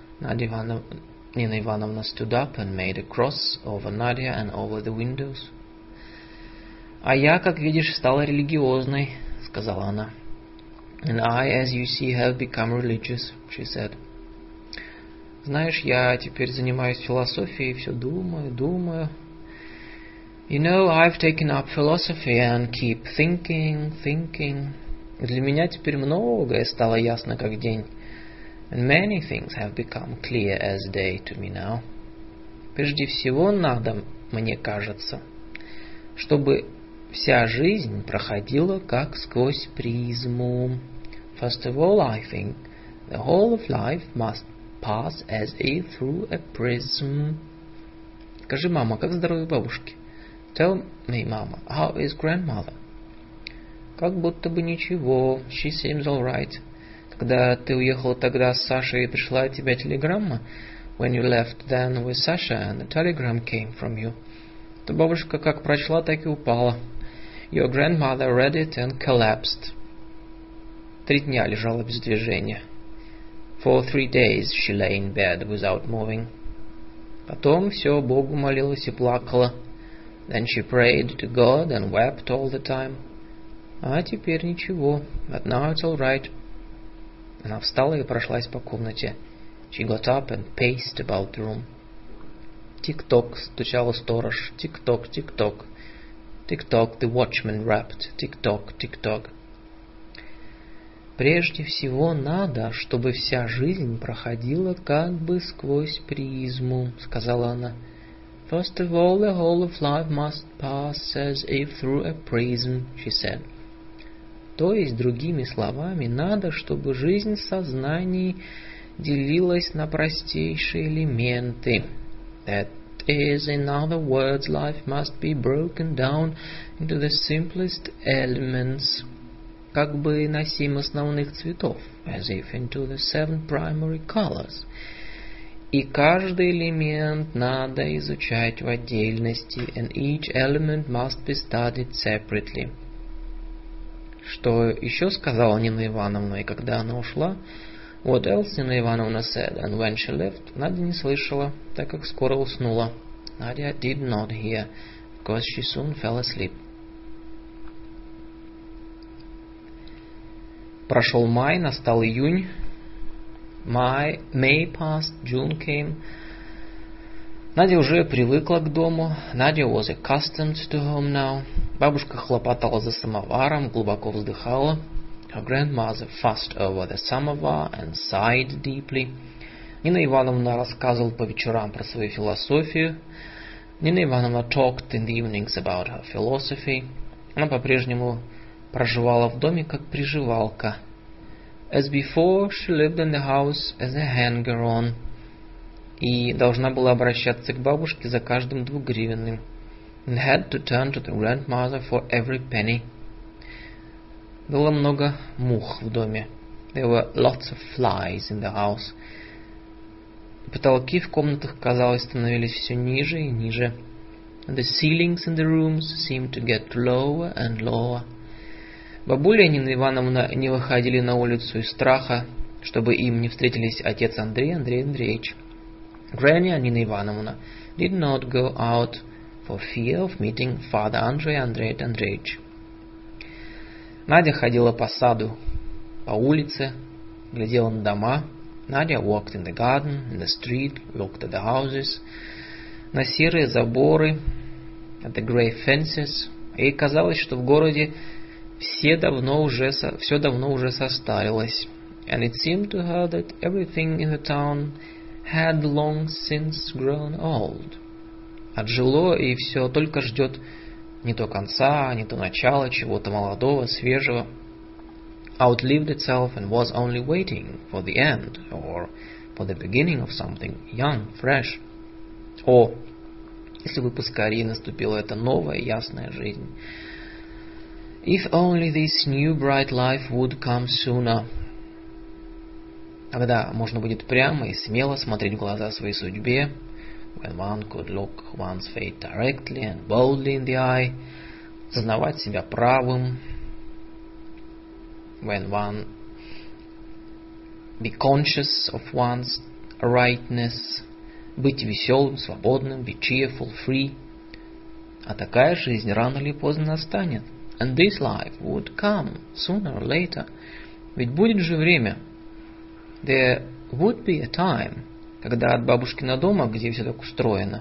Nina Ivanovna stood up and made a cross over Nadia and over the windows. «А я, как видишь, стала религиозной», — сказала она. «And I, as you see, have become religious», — she said. «Знаешь, я теперь занимаюсь философией, все думаю. You know, I've taken up philosophy and keep thinking. Для меня теперь многое стало ясно, как день. And many things have become clear as day to me now. Прежде всего надо, мне кажется, чтобы вся жизнь проходила как сквозь призму. First of all, I think the whole of life must pass as if through a prism. Скажи, мама, как здоровье бабушки? Tell me, mama, how is grandmother? Как будто бы ничего. She seems all right. Когда ты уехала тогда с Сашей, пришла от тебя телеграмма. When you left then with Sasha and the telegram came from you. То бабушка как прочла, так и упала. Your grandmother read it and collapsed. 3 дня лежала без движения. For 3 days she lay in bed without moving. Потом все Богу молилась и плакала. Then she prayed to God and wept all the time. А теперь ничего. But now it's all right. Она встала и прошлась по комнате. She got up and paced about the room. Тик-ток, стучала сторож. Тик-ток, тик-ток. Тик-ток, the watchman rapped. Тик-ток, тик-ток. Прежде всего надо, чтобы вся жизнь проходила как бы сквозь призму, сказала она. First of all, the whole of life must pass as if through a prism, she said. То есть, другими словами, надо, чтобы жизнь в сознании делилась на простейшие элементы. That is, in other words, life must be broken down into the simplest elements, как бы на 7 основных цветов, as if into the 7 primary colors. И каждый элемент надо изучать в отдельности, and each element must be studied separately. Что еще сказала Нина Ивановна, и когда она ушла, what else Nina Ivanovna said, and when she left, Надя не слышала, так как скоро уснула. Nadia did not hear, because she soon fell asleep. Прошел май, настал июнь. May passed, June came. Надя уже привыкла к дому. Nadia was accustomed to home now. Бабушка хлопотала за самоваром, глубоко вздыхала. Her grandmother fussed over the samovar and sighed deeply. Нина Ивановна рассказывала по вечерам про свою философию. Нина Ивановна talked in the evenings about her philosophy. Она по-прежнему проживала в доме как приживалка. As before, she lived in the house as a hanger-on. И должна была обращаться к бабушке за каждым 2 гривенным. And had to turn to the grandmother for every penny. Было много мух в доме. There were lots of flies in the house. Потолки в комнатах, казалось, становились все ниже и ниже. And the ceilings in the rooms seemed to get lower and lower. Бабуля и Нина Ивановна не выходили на улицу из страха, чтобы им не встретились отец Андрей Андреевич. Granny and Nina Ivanovna did not go out for fear of meeting Father Andrei Andreevich. Надя ходила по саду, по улице, глядела на дома. Nadia walked in the garden, in the street, looked at the houses, на серые заборы, at the grey fences. Ей казалось, что в городе все давно уже состарилось. And it seemed to her that everything in the town had long since grown old. Отжило и все только ждет не то конца, не то начала чего-то молодого, свежего. Outlived itself and was only waiting for the end or for the beginning of something young, fresh. О, если бы поскорее наступила эта новая ясная жизнь. If only this new bright life would come sooner. Когда можно будет прямо и смело смотреть в глаза своей судьбе, when one could look one's fate directly and boldly in the eye, сознавать себя правым, when one be conscious of one's rightness, быть веселым, свободным, be cheerful, free. А такая жизнь рано или поздно настанет. And this life would come sooner or later. Ведь будет же время. There would be a time, когда от бабушкина дома, где все так устроено,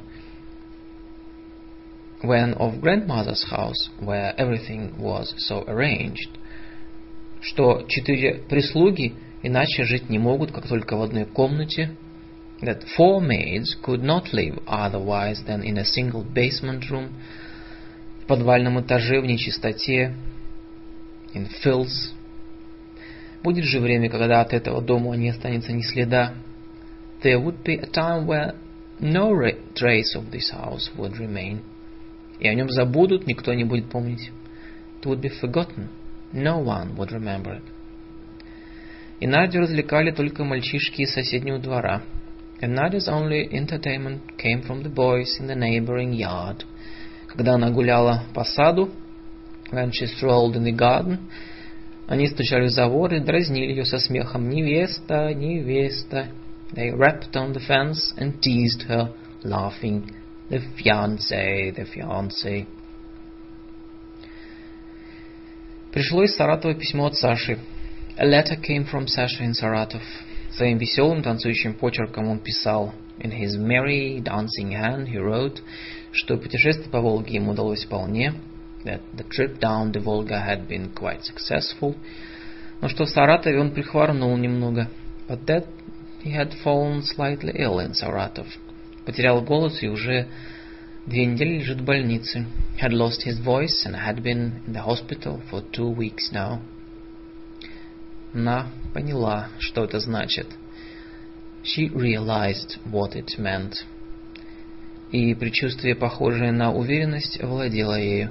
when of grandmother's house, where everything was so arranged, что 4 прислуги иначе жить не могут, как только в одной комнате, that 4 maids could not live otherwise than in a single basement room, в подвальном этаже в нечистоте, in filth. Будет же время, когда от этого дома не останется ни следа. There would be a time where no trace of this house would remain. И о нем забудут, никто не будет помнить. It would be forgotten. No one would remember it. И Надю развлекали только мальчишки из соседнего двора. And Nadia's only entertainment came from the boys in the neighboring yard. Когда она гуляла по саду, when she strolled in the garden, они стучали в забор и дразнили ее со смехом. «Невеста, невеста!» They rapped on the fence and teased her, laughing. «The fiancé, the fiancé!» Пришло из Саратова письмо от Саши. A letter came from Sasha in Saratov. Своим веселым танцующим почерком он писал. In his merry dancing hand he wrote, что путешествие по Волге ему удалось вполне, that the trip down the Volga had been quite successful, Но что в Саратове он прихворнул немного. But that he had fallen slightly ill in Saratov. Потерял голос и уже 2 недели лежит в больнице. Had lost his voice and had been in the hospital for 2 weeks now. Она поняла, что это значит. She realized what it meant. И предчувствие, похожее на уверенность, овладело ею.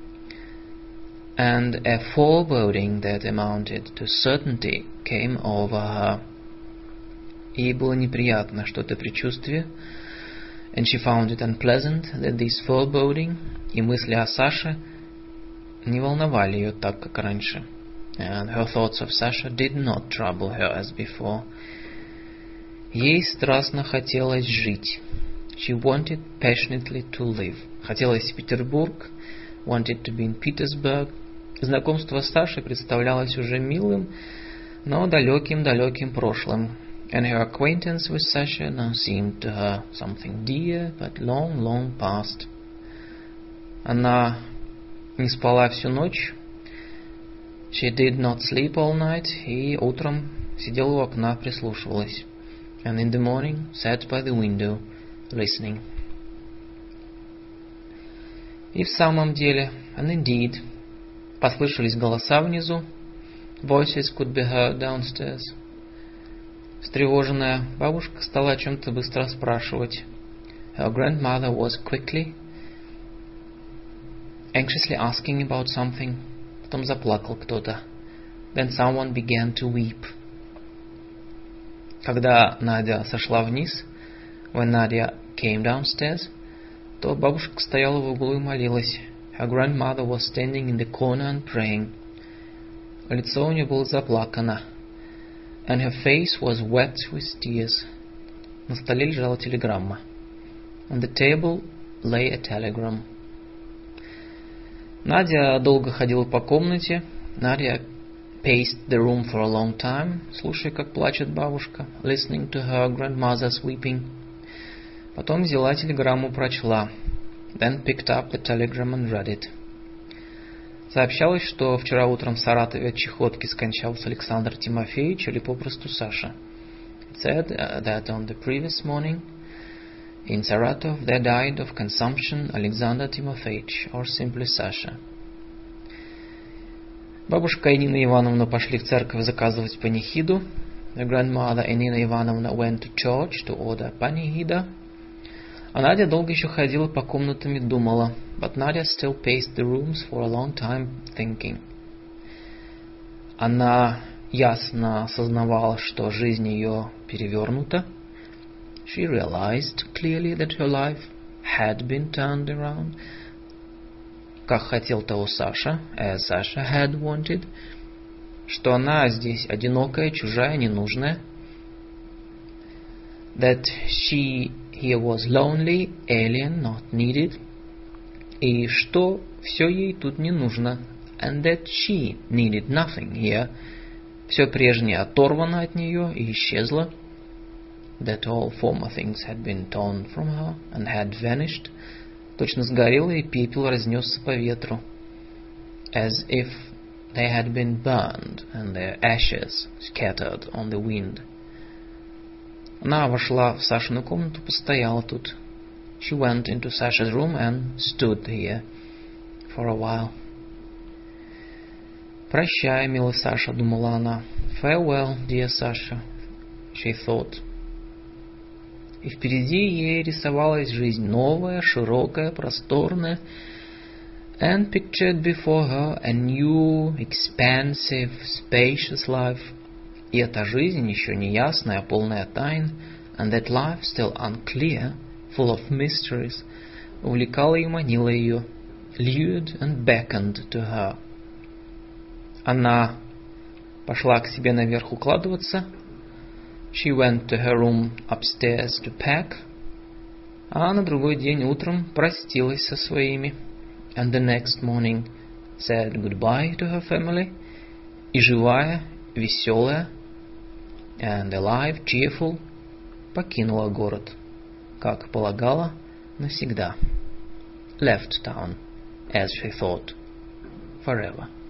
And a foreboding that amounted to certainty came over her. Ей было неприятно, что это предчувствие, and she found it unpleasant that this foreboding и мысли о Саше не волновали ее так, как раньше. And her thoughts of Sasha did not trouble her as before. Ей страстно хотелось жить. She wanted passionately to live. Хотелось в Петербург, wanted to be in Petersburg. Знакомство с Сашей представлялось уже милым, но далеким прошлым. And her acquaintance with Sasha now seemed to her something dear, but long past. Она не спала всю ночь. She did not sleep all night, и утром сидела у окна, прислушивалась. And in the morning sat by the window, listening. И в самом деле, and indeed, послышались голоса внизу. Voices could be heard downstairs. Встревоженная бабушка стала о чем-то быстро спрашивать. Her grandmother was anxiously asking about something. Потом заплакал кто-то. Then someone began to weep. Когда Надя сошла вниз, when Nadia came downstairs, то бабушка стояла в углу и молилась. Her grandmother was standing in the corner and praying. Лицо у нее было заплакано. And her face was wet with tears. На столе лежала телеграмма. On the table lay a telegram. Надя долго ходила по комнате. Nadia paced the room for a long time, слушая, как плачет бабушка, listening to her grandmother's weeping. Потом взяла телеграмму, прочла. Then picked up the telegram and read it. Сообщалось, что вчера утром в Саратове от чехотки скончался Александр Тимофеевич или попросту Саша. It said that on the previous morning in Saratov there died of consumption Alexander Timofeevich, or simply Sasha. Бабушка и Нина Ивановна пошли в церковь заказывать панихиду. The grandmother and Nina Ivanovna went to church to order panihida. А Надя долго еще ходила по комнатам и думала. But Nadia still paced the rooms for a long time thinking. Она ясно осознавала, что жизнь ее перевернута. She realized clearly that her life had been turned around. Как хотел того Саша, as Sasha had wanted. Что она здесь одинокая, чужая, ненужная. That she here was lonely, alien, not needed. И что все ей тут не нужно. And that she needed nothing here. Все прежнее оторвано от нее и исчезло. That all former things had been torn from her and had vanished. Точно сгорело, и пепел разнесся по ветру. As if they had been burned and their ashes scattered on the wind. Она вошла в Сашину комнату, постояла тут. She went into Sasha's room and stood here for a while. Прощай, милый Саша, думала она. Farewell, dear Sasha, she thought. И впереди ей рисовалась жизнь новая, широкая, просторная. And pictured before her a new, expansive, spacious life. И эта жизнь еще не ясная, полная тайн, and that life still unclear, full of mysteries, увлекала и манила ее, lured and beckoned to her. Она пошла к себе наверх укладываться. She went to her room upstairs to pack. А на другой день утром простилась со своими. And the next morning said goodbye to her family. И живая, веселая, and alive, cheerful, покинула город, как полагала, навсегда. Left town, as she thought, forever.